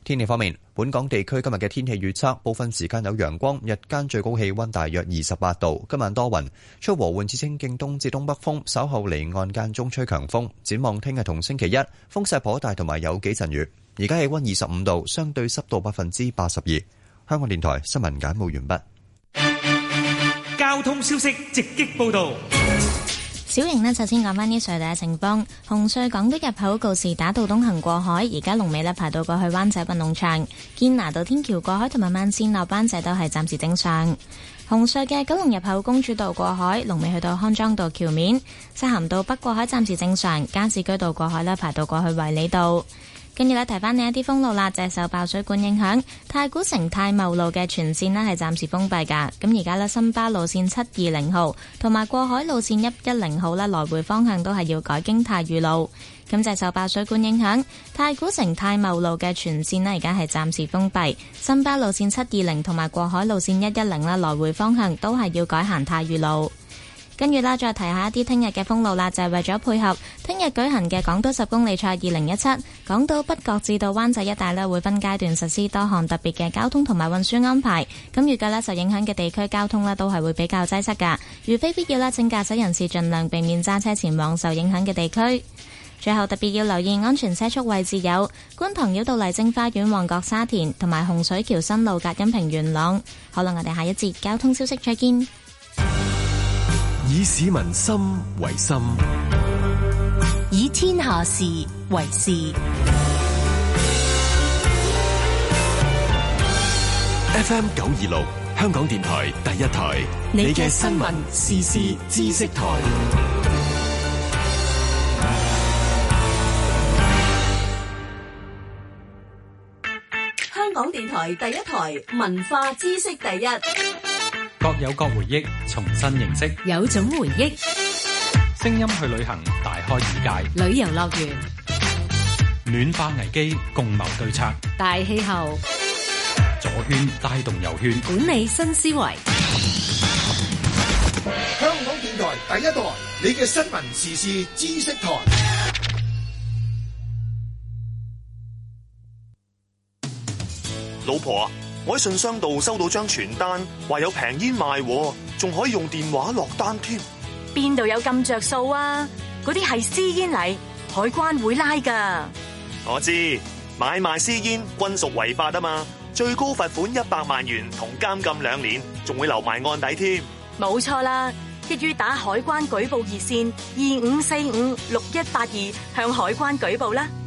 天氣方面，本港地區今日嘅天氣預測，部分時間有陽光，日間最高氣溫大約二十八度。今晚多雲，吹和緩至清勁東至東北風，稍後離岸間中吹強風。展望聽日同星期一，風勢頗大，同埋有幾陣雨。而家氣溫二十五度，相對濕度百分之八十二。香港電台新聞簡報完畢。 交通消息直擊報道。 小瑩呢，首先講翻啲隧道嘅情況。紅隧港島入口告士打道東行過海，而家龍尾呢排到過去灣仔運動場。堅拿道天橋過海同埋慢線落灣仔都係暫時正常。紅隧嘅九龍入口公主道過海，龍尾去到康莊道橋面。漆咸道北過海暫時正常，加士居道過海呢排到過去衛理道。跟住咧，提翻你一啲封路啦，就係受爆水管影響，太古城太茂路嘅全線呢係暫時封閉㗎。咁而家呢，新巴路線七二零號同埋過海路線一一零號呢，來回方向都係要改經太裕路。咁就係受爆水管影響，太古城太茂路嘅全線呢而家係暫時封閉，新巴路線七二零同埋過海路線一一零呢，來回方向都係要改行太裕路。跟住啦，再提下一啲聽日嘅封路啦，就係為咗配合聽日舉行嘅港島十公里賽二零一七，港島北角至到灣仔一帶呢會分階段實施多項特別嘅交通同埋運輸安排。咁預計呢，受影響嘅地區交通呢都係會比較擠塞㗎。如非必要啦，請駕駛人士盡量避免揸車前往受影響嘅地區。最後特別要留意安全車速位置有觀塘繞道麗晶花園、旺角沙田同埋洪水橋新路隔音屏元朗。好啦，我哋下一節交通消息再見。 以市民心為心， 以天下事為事。 F M 九二六，香港電台第一台，你嘅新聞時事知識台。 香港電台第一台，文化知識第一。 各有各回憶，重新認識， 有種回憶。 聲音去旅行，大開眼界。 旅遊樂園， 暖化危機，共謀對策。 大氣候， 左圈帶動右圈， 管理新思維。 香港電台第一台，你嘅新聞時事知識台。 老婆啊，我喺信箱度收到張傳單，話有平煙賣，仲可以用電話落單添。 邊度有咁着數啊？嗰啲係私煙嚟，海關會拉噶。 我知，買賣私煙均屬違法啊嘛，最高罰款一百萬元同監禁兩年，仲會留埋案底添。 冇錯啦，一於打海關舉報熱線二五四五六一八二向海關舉報啦。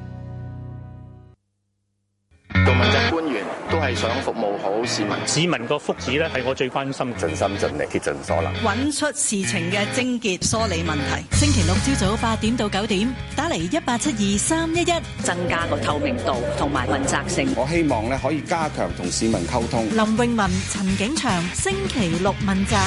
做問責官員都係想服務好市民， 市民個福祉咧係我最關心， 盡心盡力竭盡所能， 揾出事情嘅症結，梳理問題。星期六朝早八點到九點，打嚟一八七二三一一， 增加個透明度同埋問責性。 我希望咧可以加強同市民溝通。 林詠雯、陳景祥，星期六問責。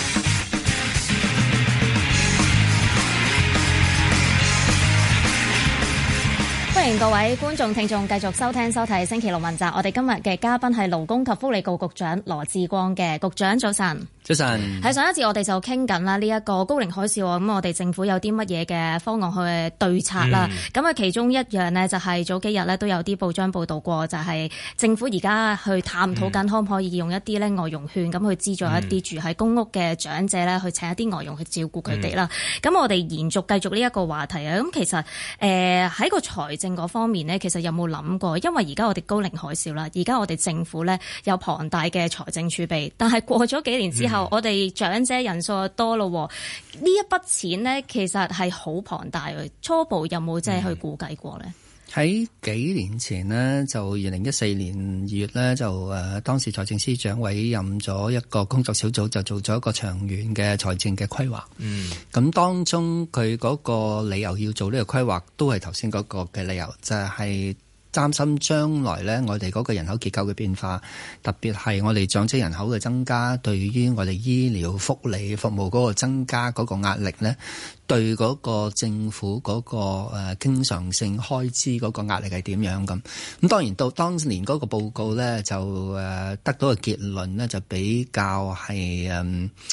歡迎各位觀眾聽眾繼續收聽收睇星期六問責。我哋今日嘅嘉賓係勞工及福利局局長羅致光嘅。局長早晨。 早晨。 喺上一節我哋就傾緊啦，呢一個高齡海嘯，咁我哋政府有啲乜嘢嘅方案去對策啦？咁啊、嗯，其中一樣呢，就係早幾日呢都有啲報章報道過，就係政府而家去探討緊可唔可以用一啲咧外傭券咁去資助一啲住喺公屋嘅長者咧，去請一啲外傭去照顧佢哋啦。咁、嗯、我哋延續繼續呢一個話題啊。咁其實誒喺、呃、個財政嗰方面呢，其實有冇諗過？因為而家我哋高齡海嘯啦，而家我哋政府咧有龐大嘅財政儲備，但係過咗幾年之後，嗯、我哋長者人數就多咯。呢一筆錢呢，其實係好龐大嘅。初步有冇即係去估計過呢？ 喺、嗯、幾年前呢，就二零一四年二月呢，就誒、呃、當時財政司長委任咗一個工作小組，就做咗一個長遠嘅財政嘅規劃。嗯，咁當中佢嗰個理由要做呢個規劃，都係頭先嗰個嘅理由，就係、是。擔心將來呢，我哋嗰個人口結構嘅變化，特別係我哋長者人口嘅增加，對於我哋醫療福利服務嗰個增加嗰個壓力呢，對嗰個政府嗰個誒經常性開支嗰個壓力係點樣咁？咁當然到當年嗰個報告呢，就誒得到嘅結論呢，就比較係誒。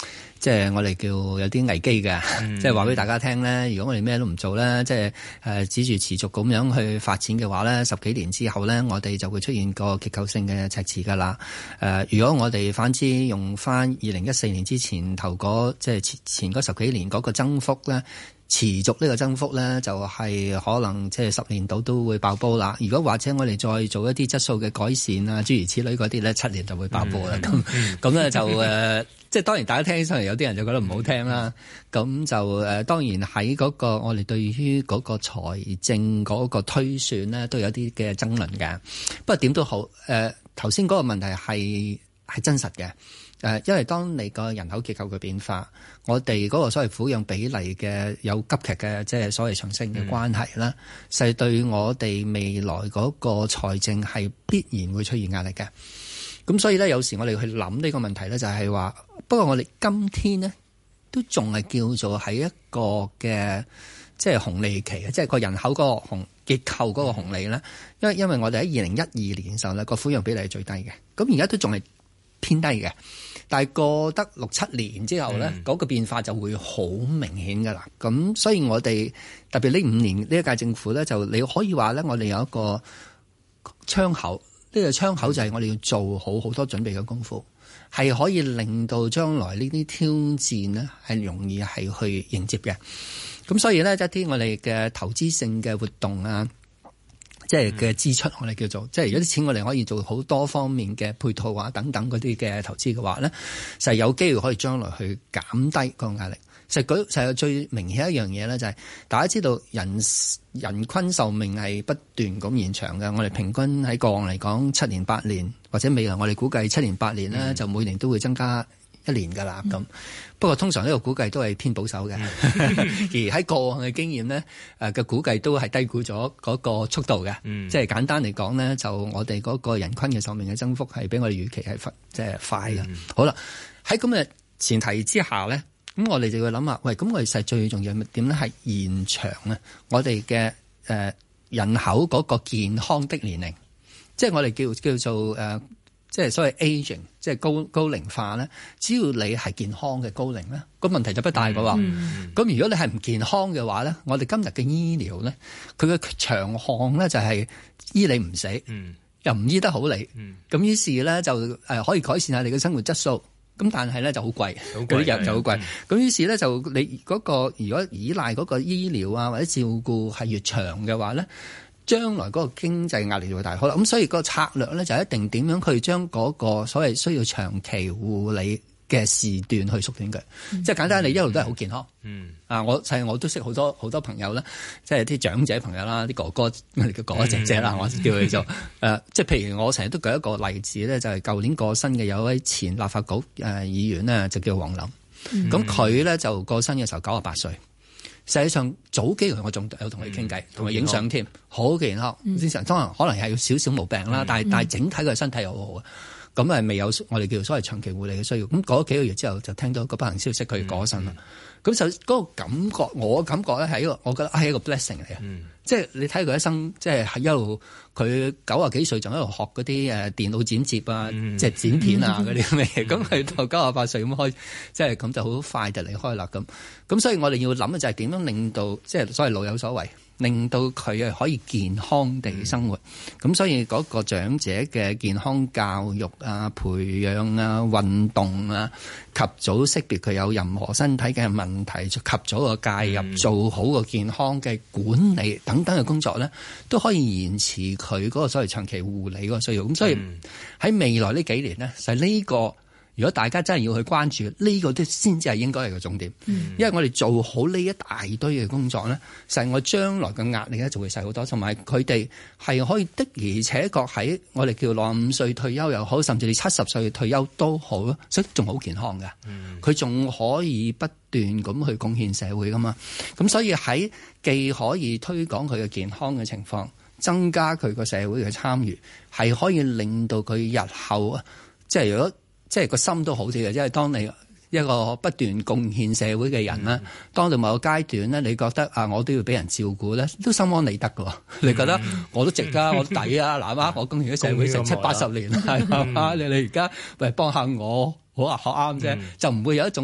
即係我哋叫有啲危機嘅，嗯、即係話俾大家聽咧。如果我哋咩都唔做咧，即係誒指住持續咁樣去發展嘅話咧，十幾年之後咧，我哋就會出現個結構性嘅赤字噶啦。誒、呃，如果我哋反之用翻二零一四年之前頭嗰即係前前嗰十幾年嗰個增幅咧，持續呢個增幅咧，就係、是、可能即係十年度都會爆煲啦。如果或者我哋再做一啲質素嘅改善啊，諸如此類嗰啲咧，七年就會爆煲啦。咁咁咧就誒。呃即係當然，大家聽起上嚟有啲人就覺得唔好聽啦。咁、嗯、就誒、呃，當然喺嗰、那個我哋對於嗰個財政嗰個推算咧，都有啲嘅爭論嘅。不過點都好，誒頭先嗰個問題係係真實嘅。誒、呃，因為當你個人口結構嘅變化，我哋嗰個所謂撫養比例嘅有急劇嘅即係所謂上升嘅關係啦，係、嗯、對我哋未來嗰個財政係必然會出現壓力嘅。咁所以咧，有時我哋去諗呢個問題咧，就係話，不過我哋今天呢，都仲係叫做喺一個嘅即係紅利期嘅，即係個人口嗰個紅結構嗰個紅利咧。因為因為我哋喺二零一二年嘅時候咧，個撫養比例係最低嘅，咁而家都仲係偏低嘅。但係過得六七年之後咧，嗰、嗯、個變化就會好明顯噶啦。咁所以我哋特別呢五年呢一屆政府咧，就你可以話咧，我哋有一個窗口。呢個窗口就係我哋要做好好多準備嘅功夫，係可以令到將來呢啲挑戰呢係容易係去迎接嘅。咁所以咧，一啲我哋嘅投資性嘅活動啊，即係嘅支出，我哋叫做即係如果啲錢我哋可以做好多方面嘅配套啊等等嗰啲嘅投資嘅話咧，就係有機會可以將來去減低個壓力。實舉實係最明顯一樣嘢咧，就係大家知道人人均壽命係不斷咁延長嘅。我哋平均喺過往嚟講七年八年，或者未來我哋估計七年八年咧，嗯、就每年都會增加一年㗎啦。咁、嗯、不過通常呢個估計都係偏保守嘅，嗯、而喺過往嘅經驗咧，誒嘅估計都係低估咗嗰個速度嘅。嗯、即係簡單嚟講咧，就我哋嗰個人均嘅壽命嘅增幅係比我哋預期係即係快嘅。嗯、好啦，喺咁嘅前提之下咧。咁我哋就要諗下，喂，咁我哋實最重要點咧係延長啊！我哋嘅誒人口嗰個健康的年齡，即係我哋叫叫做誒、呃，即係所謂 aging，即係高高齡化咧。只要你係健康嘅高齡咧，個問題就不大嘅喎。咁、嗯、如果你係唔健康嘅話咧，我哋今日嘅醫療咧，佢嘅長項咧就係醫你唔死，嗯、又唔醫得好你。咁、嗯、於是咧就誒可以改善下你嘅生活質素。咁但係咧就好貴，嗰啲藥就好貴。咁、嗯、於是咧就你嗰個如果依賴嗰個醫療啊或者照顧係越長嘅話咧，將來嗰個經濟壓力就會大。好啦，咁所以個策略咧就一定點樣去將嗰個所謂需要長期護理嘅時段去縮短佢。嗯、即係簡單，你一路都係好健康。嗯，啊，我係我都識好多好多朋友啦，即係啲長者朋友啦，啲哥哥我哋叫哥哥姐姐啦，嗯、我叫佢做誒、呃，即係譬如我成日都舉一個例子咧，就係、是、舊年過身嘅有一位前立法局誒、呃、議員呢，就叫黃林。咁佢咧就過身嘅時候九十八歲，實際上早幾個月我仲有同佢傾偈，同佢影相添，好健康。正常當然可能係有少少毛病啦，嗯、但係但係整體佢身體好好啊。咁係未有我哋叫做所謂長期護理嘅需要。咁過咗幾個月之後，就聽到個不幸消息，佢過身啦。咁、嗯、就嗰個感覺，我感覺咧係一個，我覺得係一個 blessing 嚟嘅。嗯、即係你睇佢一生，即係一路佢九十幾歲仲喺度學嗰啲誒電腦剪接啊，嗯、即係剪片啊嗰啲咁嘅嘢。咁佢、嗯、到九十八歲咁開，即係咁就好快就離開啦。咁咁所以我哋要諗嘅就係點樣令到即係所謂老有所為。令到佢可以健康地生活，咁、嗯、所以嗰個長者嘅健康教育啊、培養啊、運動啊，及早識別佢有任何身體嘅問題，及早個介入，嗯、做好個健康嘅管理等等嘅工作咧，都可以延遲佢嗰個所謂長期護理嗰個需要。咁所以喺未來呢幾年呢，就係呢個。如果大家真係要去關注呢、這個，都先至係應該係個重點，嗯、因為我哋做好呢一大堆嘅工作咧，實我將來嘅壓力咧就會細好多，同埋佢哋係可以的而且確喺我哋叫六十五歲退休又好，甚至你七十歲退休都好咯，所以仲好健康嘅，佢仲、嗯、可以不斷咁去貢獻社會噶嘛，咁所以喺既可以推廣佢嘅健康嘅情況，增加佢個社會嘅參與，係可以令到佢日後啊，即係如果。即係個心都好啲嘅，因為當你一個不斷貢獻社會嘅人咧，嗯、當到某個階段咧，你覺得啊，我都要俾人照顧咧，都心安理得㗎喎。嗯、你覺得我都值啊，我都抵啊，嗱啊，我貢獻咗社會成七八十年，係嘛？你你而家喂幫下我，好啊，學啱啫，嗯、就唔會有一種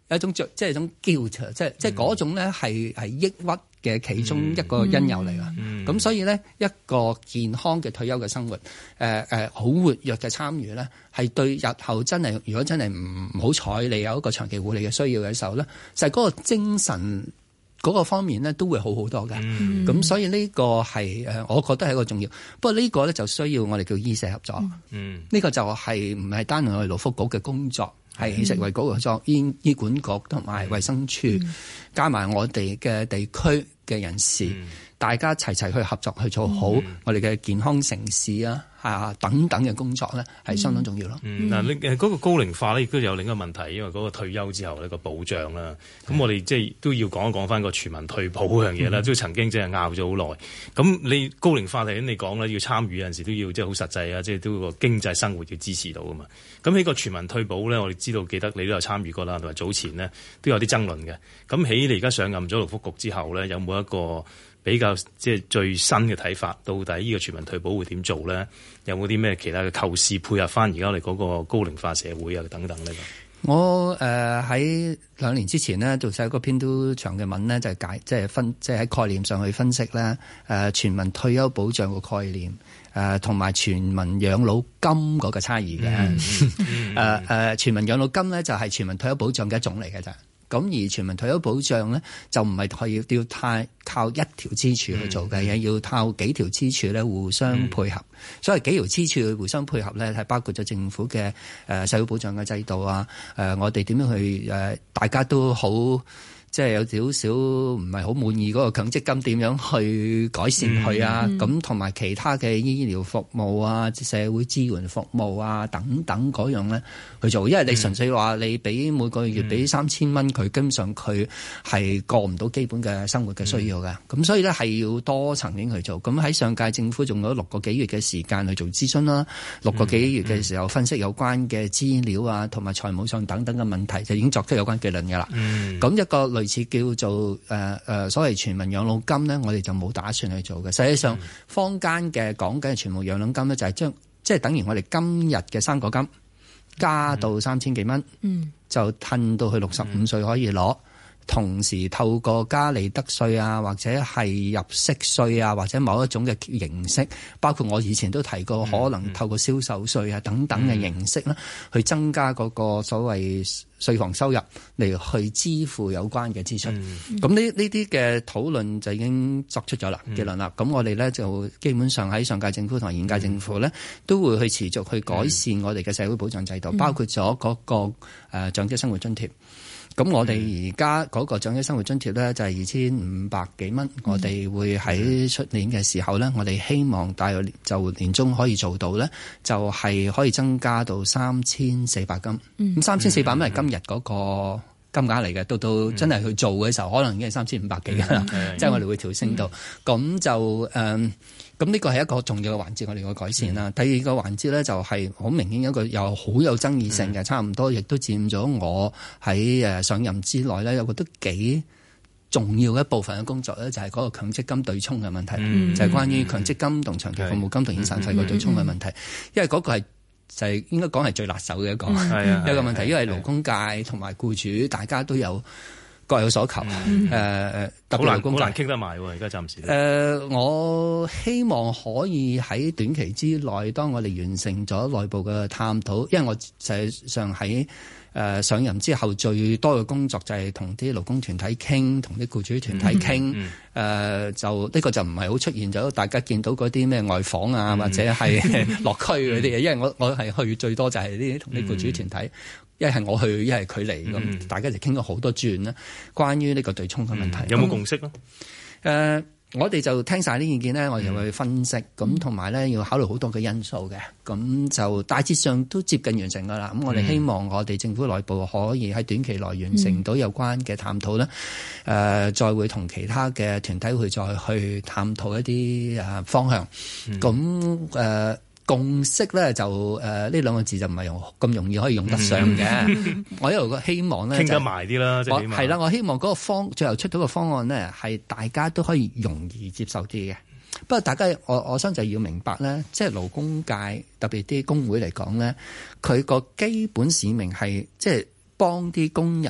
一種即係一種 guilt，即係即係嗰種咧係係抑鬱嘅其中一個因由嚟㗎。咁、嗯、所以咧一個健康嘅退休嘅生活，誒誒好活躍嘅參與咧，係對日後真係如果真係唔好彩你有一個長期護理嘅需要嘅時候咧，就係、是、嗰個精神嗰個方面咧都會好好多嘅。咁、嗯、所以呢個係誒，我覺得係一個重要。不過呢個咧就需要我哋叫醫社合作。嗯，呢、這個就係唔係單係我哋勞福局嘅工作。係食衞局合作，醫醫管局同埋衛生署，嗯、加埋我哋嘅地區嘅人士，嗯、大家齊齊去合作去做好我哋嘅健康城市啊！啊，等等嘅工作咧，係相當重要咯。 嗯，嗱、嗯，你誒嗰個高齡化咧，亦都有另一個問題，因為嗰個退休之後呢個保障啦。咁我哋即係都要講一講翻個全民退保嗰樣嘢啦。都、嗯、曾經即係拗咗好耐。咁你高齡化頭先你講啦，要參與有陣時都要即係好實際啊，即係都個經濟生活要支持到噶嘛。咁喺個全民退保咧，我哋知道記得你都有參與過啦，同埋早前呢都有啲爭論嘅。咁喺你而家上任咗勞福局之後咧，有冇一個比較即係最新嘅睇法？到底呢個全民退保會點做咧？有冇啲咩其他嘅構思配合翻而家我哋嗰個高齡化社會啊等等呢？ 我誒喺、呃、兩年之前呢，做寫嗰篇都長嘅文呢，就係解即係分即係喺概念上去分析咧誒、呃、全民退休保障個概念誒同埋全民養老金嗰個差異嘅誒誒全民養老金咧就係全民退休保障嘅一種嚟嘅咋。咁而全民退休保障咧，就唔係可以要太靠一條支柱去做嘅，嘢、嗯、要靠幾條支柱咧互相配合。嗯、所以幾條支柱互相配合咧，係包括咗政府嘅誒社會保障嘅制度啊，誒我哋點樣去誒大家都好。即係有少少唔係好滿意嗰個強積金點樣去改善佢啊？咁同埋其他嘅醫療服務啊、社會支援服務啊等等嗰樣咧去做，因為你純粹話你俾每個月俾三千蚊佢，根本上佢係過唔到基本嘅生活嘅需要嘅。咁、嗯、所以咧係要多層面去做。咁喺上屆政府仲有六個幾月嘅時間去做諮詢啦，六個幾月嘅時候分析有關嘅資料啊，同埋財務上等等嘅問題，就已經作出有關結論㗎啦。咁、嗯、一個類似叫做誒誒、呃、所謂全民養老金咧，我哋就冇打算去做嘅。實際上，坊間嘅講緊嘅全民養老金咧，就係將即係等於我哋今日嘅生果金加到三千幾蚊，嗯、就褪到去六十五歲可以攞。嗯、同時透過加利得稅啊，或者係入息稅啊，或者某一種嘅形式，包括我以前都提過，可能透過銷售稅啊等等嘅形式啦，嗯、去增加嗰個所謂稅房收入嚟去支付有關嘅支出。咁呢呢啲嘅討論就已經作出咗啦結論啦。咁、嗯、我哋咧就基本上喺上屆政府同埋現屆政府咧，都會去持續去改善我哋嘅社會保障制度，嗯、包括咗嗰個誒長者生活津貼。咁我哋而家嗰個長者生活津貼咧就係二千五百幾蚊，嗯、我哋會喺出年嘅時候咧，我哋希望大約就年中可以做到咧，就係可以增加到三千四百金。咁三千四百蚊係今日嗰個金額嚟嘅，到到真係去做嘅時候，可能已經係三千五百幾㗎啦。即係我哋會調升到，咁、嗯、就誒。嗯咁呢個係一個重要嘅環節，我哋嘅改善啦。嗯、第二個環節咧就係好明顯一個又好有爭議性嘅，嗯、差唔多亦都佔咗我喺誒上任之內咧，有個都幾重要嘅一部分嘅工作咧，就係嗰個強積金對沖嘅問題，嗯、就係關於強積金同長期服務金同遣散費個對沖嘅問題。嗯、因為嗰個係就係應該講係最辣手嘅一個、嗯、一個問題，因為勞工界同埋僱主大家都有各有所求，誒誒、嗯呃，特別勞工界好難傾得埋喎，而家暫時。誒、呃，我希望可以喺短期之內，當我哋完成咗內部嘅探討，因為我實際上喺誒、呃、上任之後，最多嘅工作就係同啲勞工團體傾，同啲僱主團體傾，誒、嗯呃、就呢、這個就唔係好出現咗，大家見到嗰啲咩外訪啊，嗯、或者係落區嗰啲嘢，因為我我係去最多就係呢啲同啲僱主團體。嗯一係我去，一係佢嚟，咁、嗯、大家就傾咗好多轉啦。關於呢個對沖嘅問題，嗯、有冇共識咧？誒、呃，我哋就聽晒啲意見咧，我哋就去分析，咁同埋咧要考慮好多嘅因素嘅，咁就大致上都接近完成噶啦。咁我哋希望我哋政府內部可以喺短期內完成到有關嘅探討咧，誒、嗯呃，再會同其他嘅團體去再去探討一啲誒方向。咁誒、嗯。呃共識咧就誒呢兩個字就唔係用咁容易可以用得上嘅。嗯、我一路個希望咧，傾得埋啲啦，即係係啦。我希望嗰個方最後出到個方案咧，係大家都可以容易接受啲嘅。不過大家我我相信就要明白咧，即係勞工界特別啲工會嚟講咧，佢個基本使命係即係幫啲工人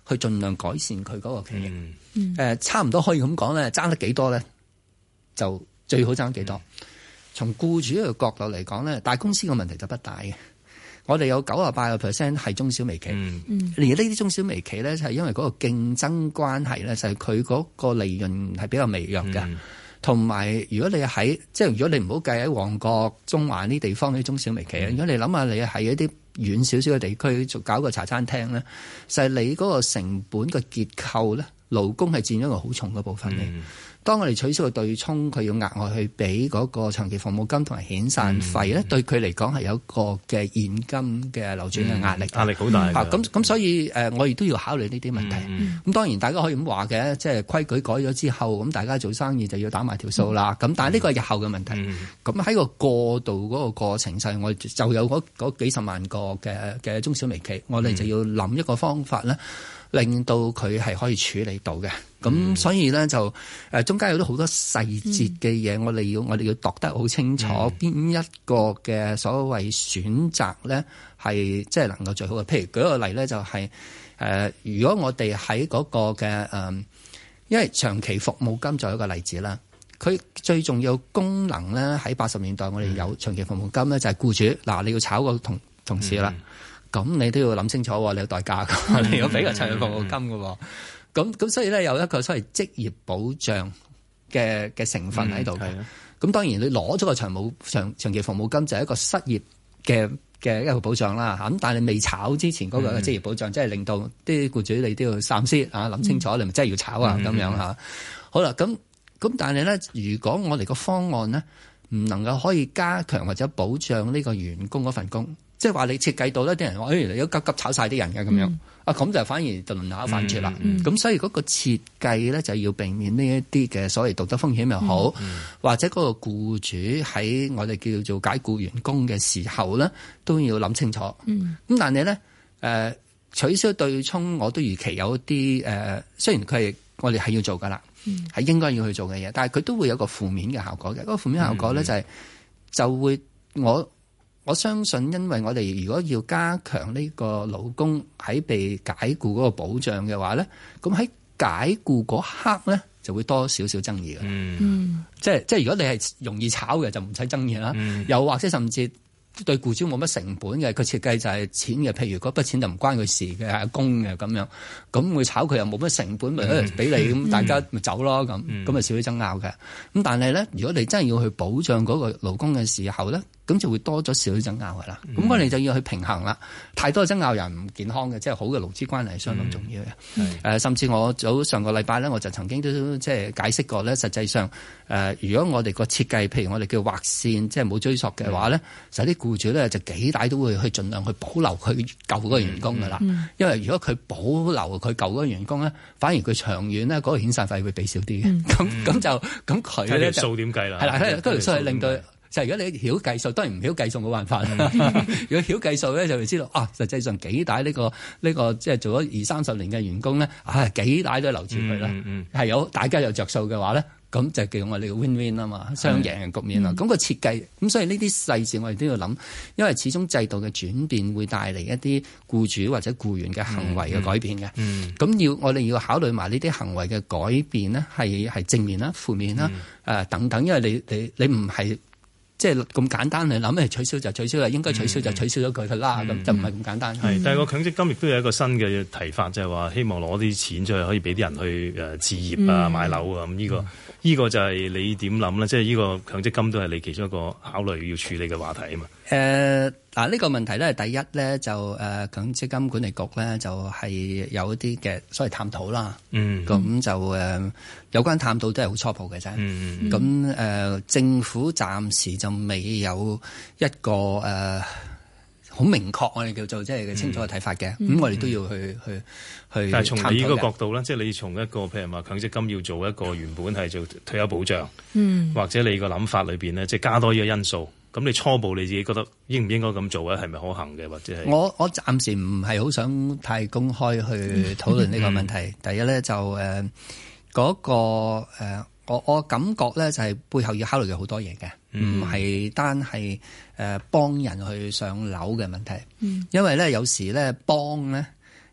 去盡量改善佢嗰個權益。誒、 嗯呃，差唔多可以咁講咧，爭得幾多咧，就最好爭幾多。從僱主嘅角度嚟講咧，大公司嘅問題就不大嘅。我哋有九十八個 percent 係中小微企， 嗯、 而呢啲中小微企咧，就係因為嗰個競爭關係咧，就係佢嗰個利潤係比較微弱嘅。同、嗯、埋如果你喺即係如果你唔好計喺旺角、中環呢啲地方啲中小微企，嗯、如果你諗下你係一啲遠少少嘅地區做搞個茶餐廳咧，就係、是、你嗰個成本嘅結構咧，勞工係佔咗一個好重嘅部分嘅。嗯當我哋取消個對沖，佢要額外去俾嗰個長期服務金同埋遣散費咧，嗯、對佢嚟講係有一個嘅現金嘅流轉嘅壓力， 壓力好大。 咁咁、嗯、所以誒，我亦都要考慮呢啲問題。咁、嗯、當然大家可以咁話嘅，即係規矩改咗之後，咁大家做生意就要打埋條數啦。咁、嗯、但係呢個係日後嘅問題。咁喺、嗯、個過渡嗰個過程上，我就有嗰嗰幾十萬個嘅嘅中小微企，我哋就要諗一個方法咧。令到佢係可以處理到嘅，咁、嗯、所以咧就誒中間有啲好多細節嘅嘢，我哋要我哋要度得好清楚，邊、嗯、一個嘅所謂選擇咧係即係能夠最好嘅。譬如舉個例咧，就係、是、誒、呃，如果我哋喺嗰個嘅誒、呃，因為長期服務金就有一個例子啦，佢最重要功能咧喺八十年代我哋有長期服務金咧，就係僱主嗱你要炒個同同事啦。嗯咁你都要諗清楚，你有代價㗎，嗯、你要俾個長期服務金㗎。咁咁、嗯、所以咧有一個所謂職業保障嘅嘅成分喺度嘅。咁、嗯、當然你攞咗個長冇長長期服務金就係一個失業嘅嘅一個保障啦。咁但係你未炒之前嗰個職業保障，即係、嗯、令到啲僱主你都要三思啊，諗清楚、嗯、你咪真係要炒啊咁、嗯、樣嚇。好啦，咁咁但係咧，如果我哋個方案咧唔能夠可以加強或者保障呢個員工嗰份工。即係話你設計到呢啲人話，誒、哎，你都急急炒晒啲人嘅咁樣，嗯、啊，咁就反而就輪流犯錯啦。咁、嗯嗯、所以嗰個設計咧就要避免呢一啲嘅所謂道德風險又好，嗯、或者嗰個僱主喺我哋叫做解僱員工嘅時候咧，都要諗清楚。咁、嗯、但係咧，誒、呃，取消對沖，我都預期有一啲誒、呃，雖然佢係我哋係要做噶啦，係、嗯、應該要去做嘅嘢，但係佢都會有個負面嘅效果嘅。嗰、那個負面效果咧就係、是嗯、就會我。我相信，因為我哋如果要加強呢個勞工喺被解僱嗰個保障嘅話咧，咁喺解僱嗰刻咧就會多少少爭議嘅。嗯，即係即係如果你係容易炒嘅就唔使爭議啦。嗯、又或者甚至對僱主冇乜成本嘅，佢設計就係錢嘅，譬如嗰筆錢就唔關佢事嘅，係工嘅咁樣，咁會炒佢又冇乜成本，咪俾、嗯、你咁，大家咪走咯咁，咁咪少啲爭拗嘅。咁但係咧，如果你真係要去保障嗰個勞工嘅時候咧，咁就會多咗少少爭拗噶啦。咁、嗯、我哋就要去平衡啦。太多爭拗又唔健康嘅，即係好嘅勞資關係係相當重要嘅。誒、嗯呃，甚至我早上個禮拜咧，我就曾經都即係解釋過咧，實際上誒、呃，如果我哋個設計，譬如我哋叫劃線，即係冇追溯嘅話咧，就啲、嗯、僱主咧就幾大都會去盡量去保留佢舊嗰個員工噶啦。嗯嗯、因為如果佢保留佢舊嗰個員工咧，反而佢長遠咧嗰個遣散費會俾少啲嘅。咁咁、嗯、就咁佢咧數點計啦？係啦，嗰條數係令到。就係如果你曉計數，當然唔曉計數冇辦法。如果曉計數咧，就會知道啊，實際上幾大呢個呢、呢個即係做咗二三十年嘅員工咧，啊幾大都留住佢啦。係、嗯嗯、有大家有着數嘅話咧，咁就叫我哋嘅 win win 啊嘛，雙贏嘅局面啦。咁、嗯、個設計咁，所以呢啲細節我哋都要諗，因為始終制度嘅轉變會帶嚟一啲僱主或者僱員嘅行為嘅改變嘅。咁、嗯嗯、要我哋要考慮埋呢啲行為嘅改變呢，係係正面啦、負面啦、嗯呃、等等，因為你你你唔係。即係咁簡單嚟諗，係取消就取消啦，應該取消就取消咗佢啦，咁、嗯、就唔係咁簡單。係、嗯，但係個強積金亦都有一個新嘅提法，就係、是、話希望攞啲錢出去可以俾啲人去誒置業啊、嗯、買樓啊咁呢、這個。呢個就係你點諗咧？即係呢個強積金都係你其中一個考慮要處理嘅話題啊嘛。誒嗱呢個問題咧，第一咧就誒、呃、強積金管理局咧就係、是、有一啲嘅所謂探討啦。嗯，咁就誒、呃、有關探討都係好初步嘅啫。嗯咁誒、呃、政府暫時就未有一個誒。呃好明確，我哋叫做即係清楚嘅睇法嘅，咁、嗯、我哋都要去去去。但係從你呢個角度咧，即係你從一個譬如話強積金要做一個原本係做退休保障，嗯，或者你個諗法裏邊咧，即係加多呢個因素，咁你初步你自己覺得應唔應該咁做咧？係咪可行嘅，或者係？我我暫時唔係好想太公開去討論呢個問題。嗯、第一咧就誒嗰、呃那個、呃、我我感覺咧就係背後要考慮嘅好多嘢嘅。唔係、嗯、單係誒幫人去上樓嘅問題，嗯、因為咧有時咧幫咧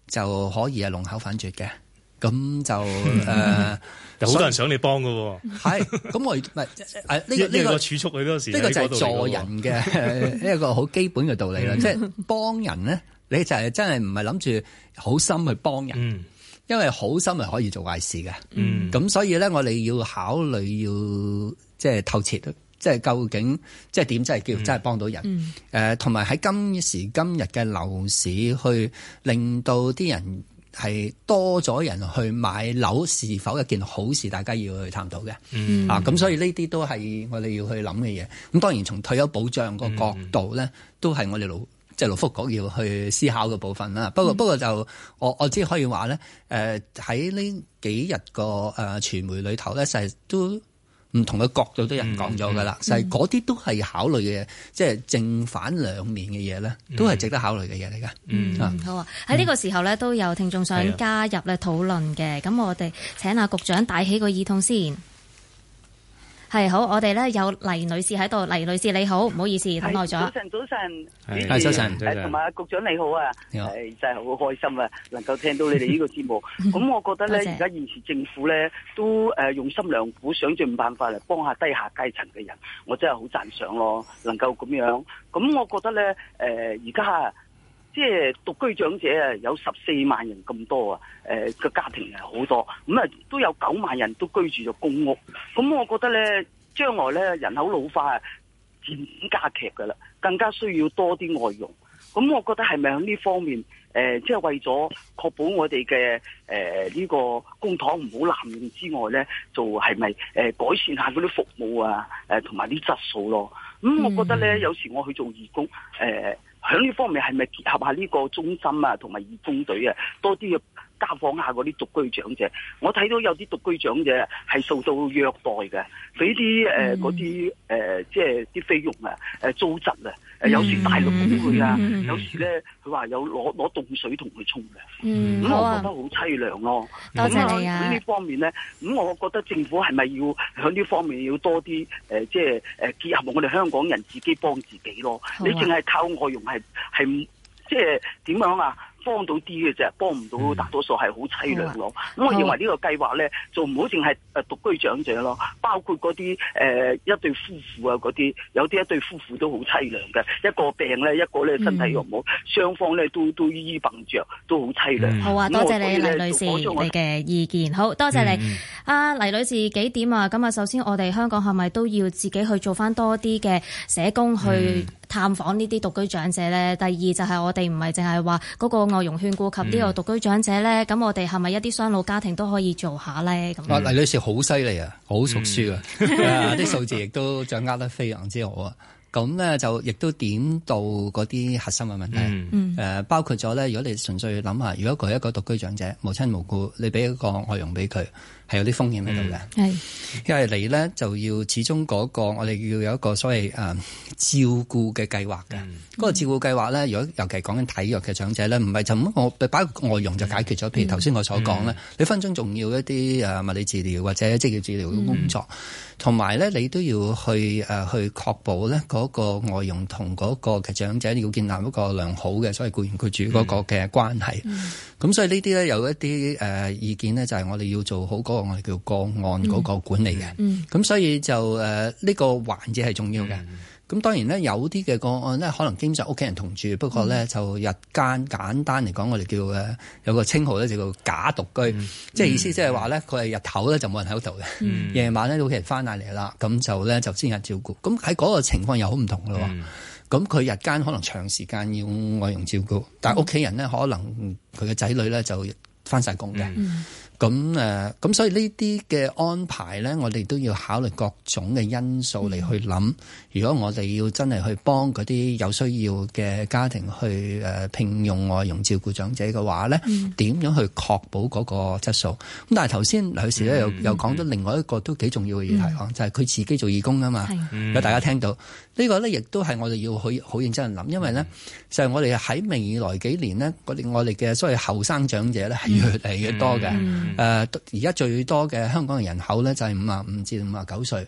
就可以係龍口反絕嘅。咁就誒， 有好多人想你幫㗎喎。 係，咁我唔係誒呢個呢個儲蓄喺嗰時， 呢個就係助人嘅一個好基本嘅道理啦。即係幫人咧，你就係真係唔係諗住好心去幫人，嗯、因為好心係可以做壞事嘅。咁、嗯、所以咧，我哋要考慮要即係透徹，即係究竟即係點，即係叫真係幫到人。誒，同埋喺今時今日嘅樓市，去令到啲人係多咗人去買樓，是否一件好事？大家要去探討嘅。嗯、啊，咁所以呢啲都係我哋要去諗嘅嘢。咁當然從退休保障個角度咧，嗯、都係我哋勞即係勞福局要去思考嘅部分啦。不過、嗯、不過就我我只可以話咧，誒喺呢幾日個誒傳媒裏頭咧，實係都唔同嘅角度都有人講咗噶啦。實係嗰啲都係考慮嘅，即係正反兩面嘅嘢咧，都係值得考慮嘅嘢嚟噶。 嗯，嗯好啊。喺呢個時候咧，都有聽眾想加入咧討論嘅。咁、啊、我哋請阿局長戴起個耳筒先。係好，我哋咧有黎女士喺度。黎女士你好，唔好意思等耐咗。 早晨，早晨， 係早晨， 誒同埋局長你好啊，係真係好開心啊，能夠聽到你哋呢個節目。咁我覺得咧，而家現時政府咧都誒用心良苦，想盡辦法嚟幫下低下階層嘅人，我真係好讚賞咯，能夠咁樣。咁我覺得咧，誒而家即係獨居長者啊，有十四萬人咁多啊，誒個家庭係好多，咁啊都有九萬人都居住咗公屋。咁我覺得咧，將來咧人口老化漸漸加劇㗎啦，更加需要多啲外傭。咁我覺得係咪喺呢方面誒、呃，即係為咗確保我哋嘅誒呢個公帑唔好濫用之外咧，就係咪誒改善下嗰啲服務啊，誒同埋啲質素咯？咁我覺得咧，有時我去做義工誒。呃喺呢方面係咪結合下呢個中心啊，同埋義工隊啊，多啲嘅家訪下嗰啲獨居長者？我睇到有啲獨居長者係受到虐待嘅，俾啲誒嗰啲誒即係啲菲傭啊，誒糟質啊，誒有時大陸俾佢啊，嗯、有時咧佢話有攞攞凍水同佢沖嘅，咁、嗯、我覺得好凄涼咯。 多謝你啊！ 喺呢方面咧，咁我覺得政府係咪要喺呢方面要多啲誒，即係誒結合我哋香港人自己幫自己咯？啊、你淨係靠外傭係係即係點樣啊？幫到啲嘅啫，幫唔到大多數係好凄涼咯。咁、嗯、我認為呢個計劃咧，就唔好淨係誒獨居長者咯，包括嗰啲誒一對夫婦啊，嗰啲有啲一對夫婦都好凄涼嘅，一個病咧，一個咧身體又唔好，雙、嗯、方咧都都醫醫病着，都好凄涼。 好啊，多謝你黎女士你嘅意見。好多謝你，阿、嗯啊、黎女士幾點啊？咁啊，首先我哋香港係咪都要自己去做翻多啲嘅社工去探訪呢啲獨居長者咧？第二就係我哋唔係淨係話嗰個外傭勸顧及呢個獨居長者咧，咁、嗯、我哋係咪一啲雙老家庭都可以做下咧？咁啊，黎女士好犀利啊，好熟書啊，啲、嗯、數字亦都掌握得非常之好啊。咁咧就亦都點到嗰啲核心嘅問題，誒、嗯呃、包括咗咧。如果你純粹諗下，如果佢係一個獨居長者，無親無故，你俾一個外傭俾佢，係有啲風險喺度嘅。係、嗯，因為你咧就要始終嗰、那個我哋要有一個所謂誒、呃、照顧嘅計劃嘅。嗰、嗯、個照顧計劃咧，如果尤其講緊體弱嘅長者咧，唔係就咁我擺個外傭就解決咗。譬如頭先我所講咧，嗯、你分鐘仲要一啲誒物理治療或者職業治療嘅工作。嗯同埋咧，你都要去誒、呃、去確保咧嗰個外傭同嗰個嘅長者要建立一個良好嘅所謂僱員僱主嗰個嘅關係。咁、嗯、所以呢啲咧有一啲誒、呃、意見咧，就係我哋要做好嗰個我哋叫個案嗰個管理嘅。咁、嗯嗯、所以就誒呢、呃這個環節係重要嘅。咁、嗯、當然咧，有啲嘅個案咧，可能基本上屋企人同住，不過咧、嗯、就日間簡單嚟講，我哋叫誒有個稱號咧，就叫假獨居，嗯、即係意思即係話咧，佢係日頭咧就冇人喺度嘅，夜、嗯、晚咧屋企人翻嚟啦，咁就咧就先有照顧。咁喺嗰個情況又好唔同咯。咁佢、嗯、日間可能長時間要外傭照顧，但係屋企人咧可能佢嘅仔女咧就翻晒工嘅。嗯咁誒，咁所以呢啲嘅安排咧，我哋都要考慮各種嘅因素嚟去諗。嗯、如果我哋要真係去幫嗰啲有需要嘅家庭去誒聘用外傭照顧長者嘅話咧，點、嗯、樣去確保嗰個質素？咁但係頭先劉女士咧又又講咗另外一個都幾重要嘅議題，嗯、就係佢自己做義工啊嘛。有、嗯、大家聽到、這個、呢個咧，亦都係我哋要好好認真去諗，因為咧就係、是、我哋喺未來幾年呢，我哋我哋嘅所謂後生長者咧係越嚟越多嘅。嗯嗯誒而家最多嘅香港嘅人口咧就係五啊五至五啊九歲，咁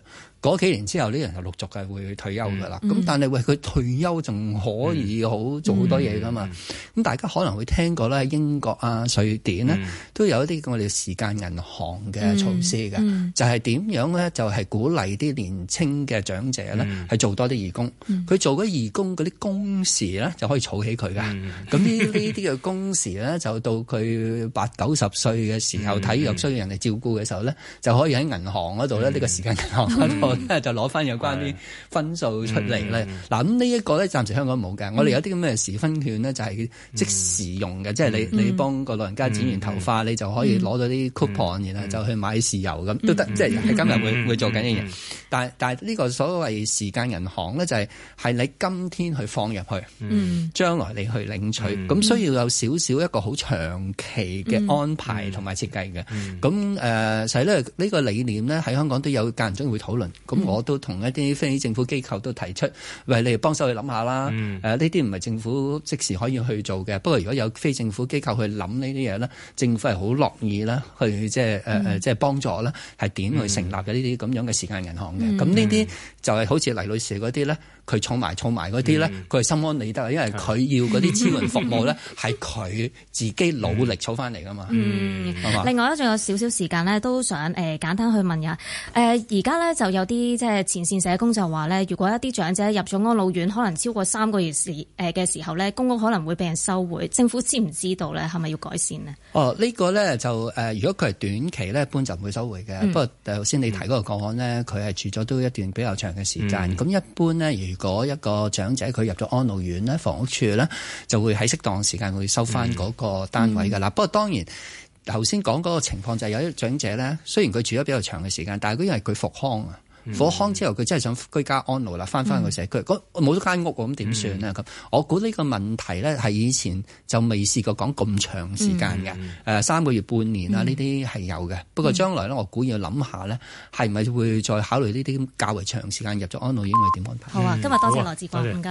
嗰幾年之後，呢人就陸續係會退休㗎啦。咁、 嗯、 但係喂，佢退休仲可以好、嗯、做好多嘢㗎嘛？咁、嗯、大家可能會聽過咧，英國啊、瑞典呢，嗯、都有一啲我哋時間銀行嘅措施嘅，嗯嗯、就係點樣咧？就係、是、鼓勵啲年青嘅長者咧，係、嗯、做多啲義工。佢、嗯、做嗰義工嗰啲工時咧，就可以儲起佢㗎。咁呢呢啲嘅工時咧，就到佢八九十歲嘅時候，體弱需要人哋照顧嘅時候咧，就可以喺銀行嗰度咧，呢、嗯、個時間銀行嗰度咧，就攞翻有關啲分數出嚟咧。嗱、嗯，咁呢一個咧，暫時香港冇嘅。嗯、我哋有啲咁嘅時分券咧，就係即時用嘅，嗯、即係你、嗯、你幫個老人家剪完頭髮，嗯、你就可以攞到啲 coupon，、嗯、然後就去買豉油咁、嗯、都得，嗯、即係係今日會、嗯、會做緊嘅嘢。嗯、但係但係呢個所謂時間銀行咧，就係係你今天去放入去，嗯，將來你去領取，咁、嗯、需要有少少一個好長期嘅安排同埋設計嘅。咁誒、嗯，所以咧呢個理念咧喺香港都有間唔中會討論。咁、嗯、我都同一啲非政府機構都提出，喂，你哋幫手去諗下啦。誒、嗯，呢啲唔係政府即時可以去做嘅。不過如果有非政府機構去諗呢啲嘢咧，政府係好樂意啦，去即係誒誒，即係幫助啦，係點去成立嘅呢啲咁樣嘅時間銀行嘅。咁呢啲就係好似黎女士嗰啲咧。佢儲埋儲埋嗰啲咧，佢係、嗯、心安理得，因為佢要嗰啲支援服務咧，係佢自己努力儲翻嚟噶嘛。 嗯， 吧另外咧，仲有少少時間咧，都想誒、呃、簡單去問下誒，而家咧就有啲即係前線社工就話咧，如果一啲長者入咗安老院，可能超過三個月時誒嘅時候咧，公屋可能會被人收回。政府知唔知道咧？係咪要改善呢？哦， 呢、呢個咧就誒、呃，如果佢係短期咧，一般就唔會收回嘅。嗯、不過頭先你提嗰個個案咧，佢係住咗都一段比較長嘅時間。咁、嗯、一般咧，如果一個長者佢入咗安老院咧，房屋處咧就會喺適當時間會收翻嗰個單位㗎啦。嗯、不過當然頭先講嗰個情況就係有啲長者咧，雖然佢住咗比較長嘅時間，但係因為佢復康啊。復康之後，佢真係想居家安老啦，翻返去社區。冇咗間屋咁點算呢？咁、嗯、我估呢個問題咧係以前就未試過講咁長時間嘅。誒、嗯呃、三個月、半年啊，呢啲係有嘅。不過將來咧，我估要諗下咧，係咪會再考慮呢啲較為長時間入咗安老院，會點安排？ 好啊，今日多謝羅致光，唔該。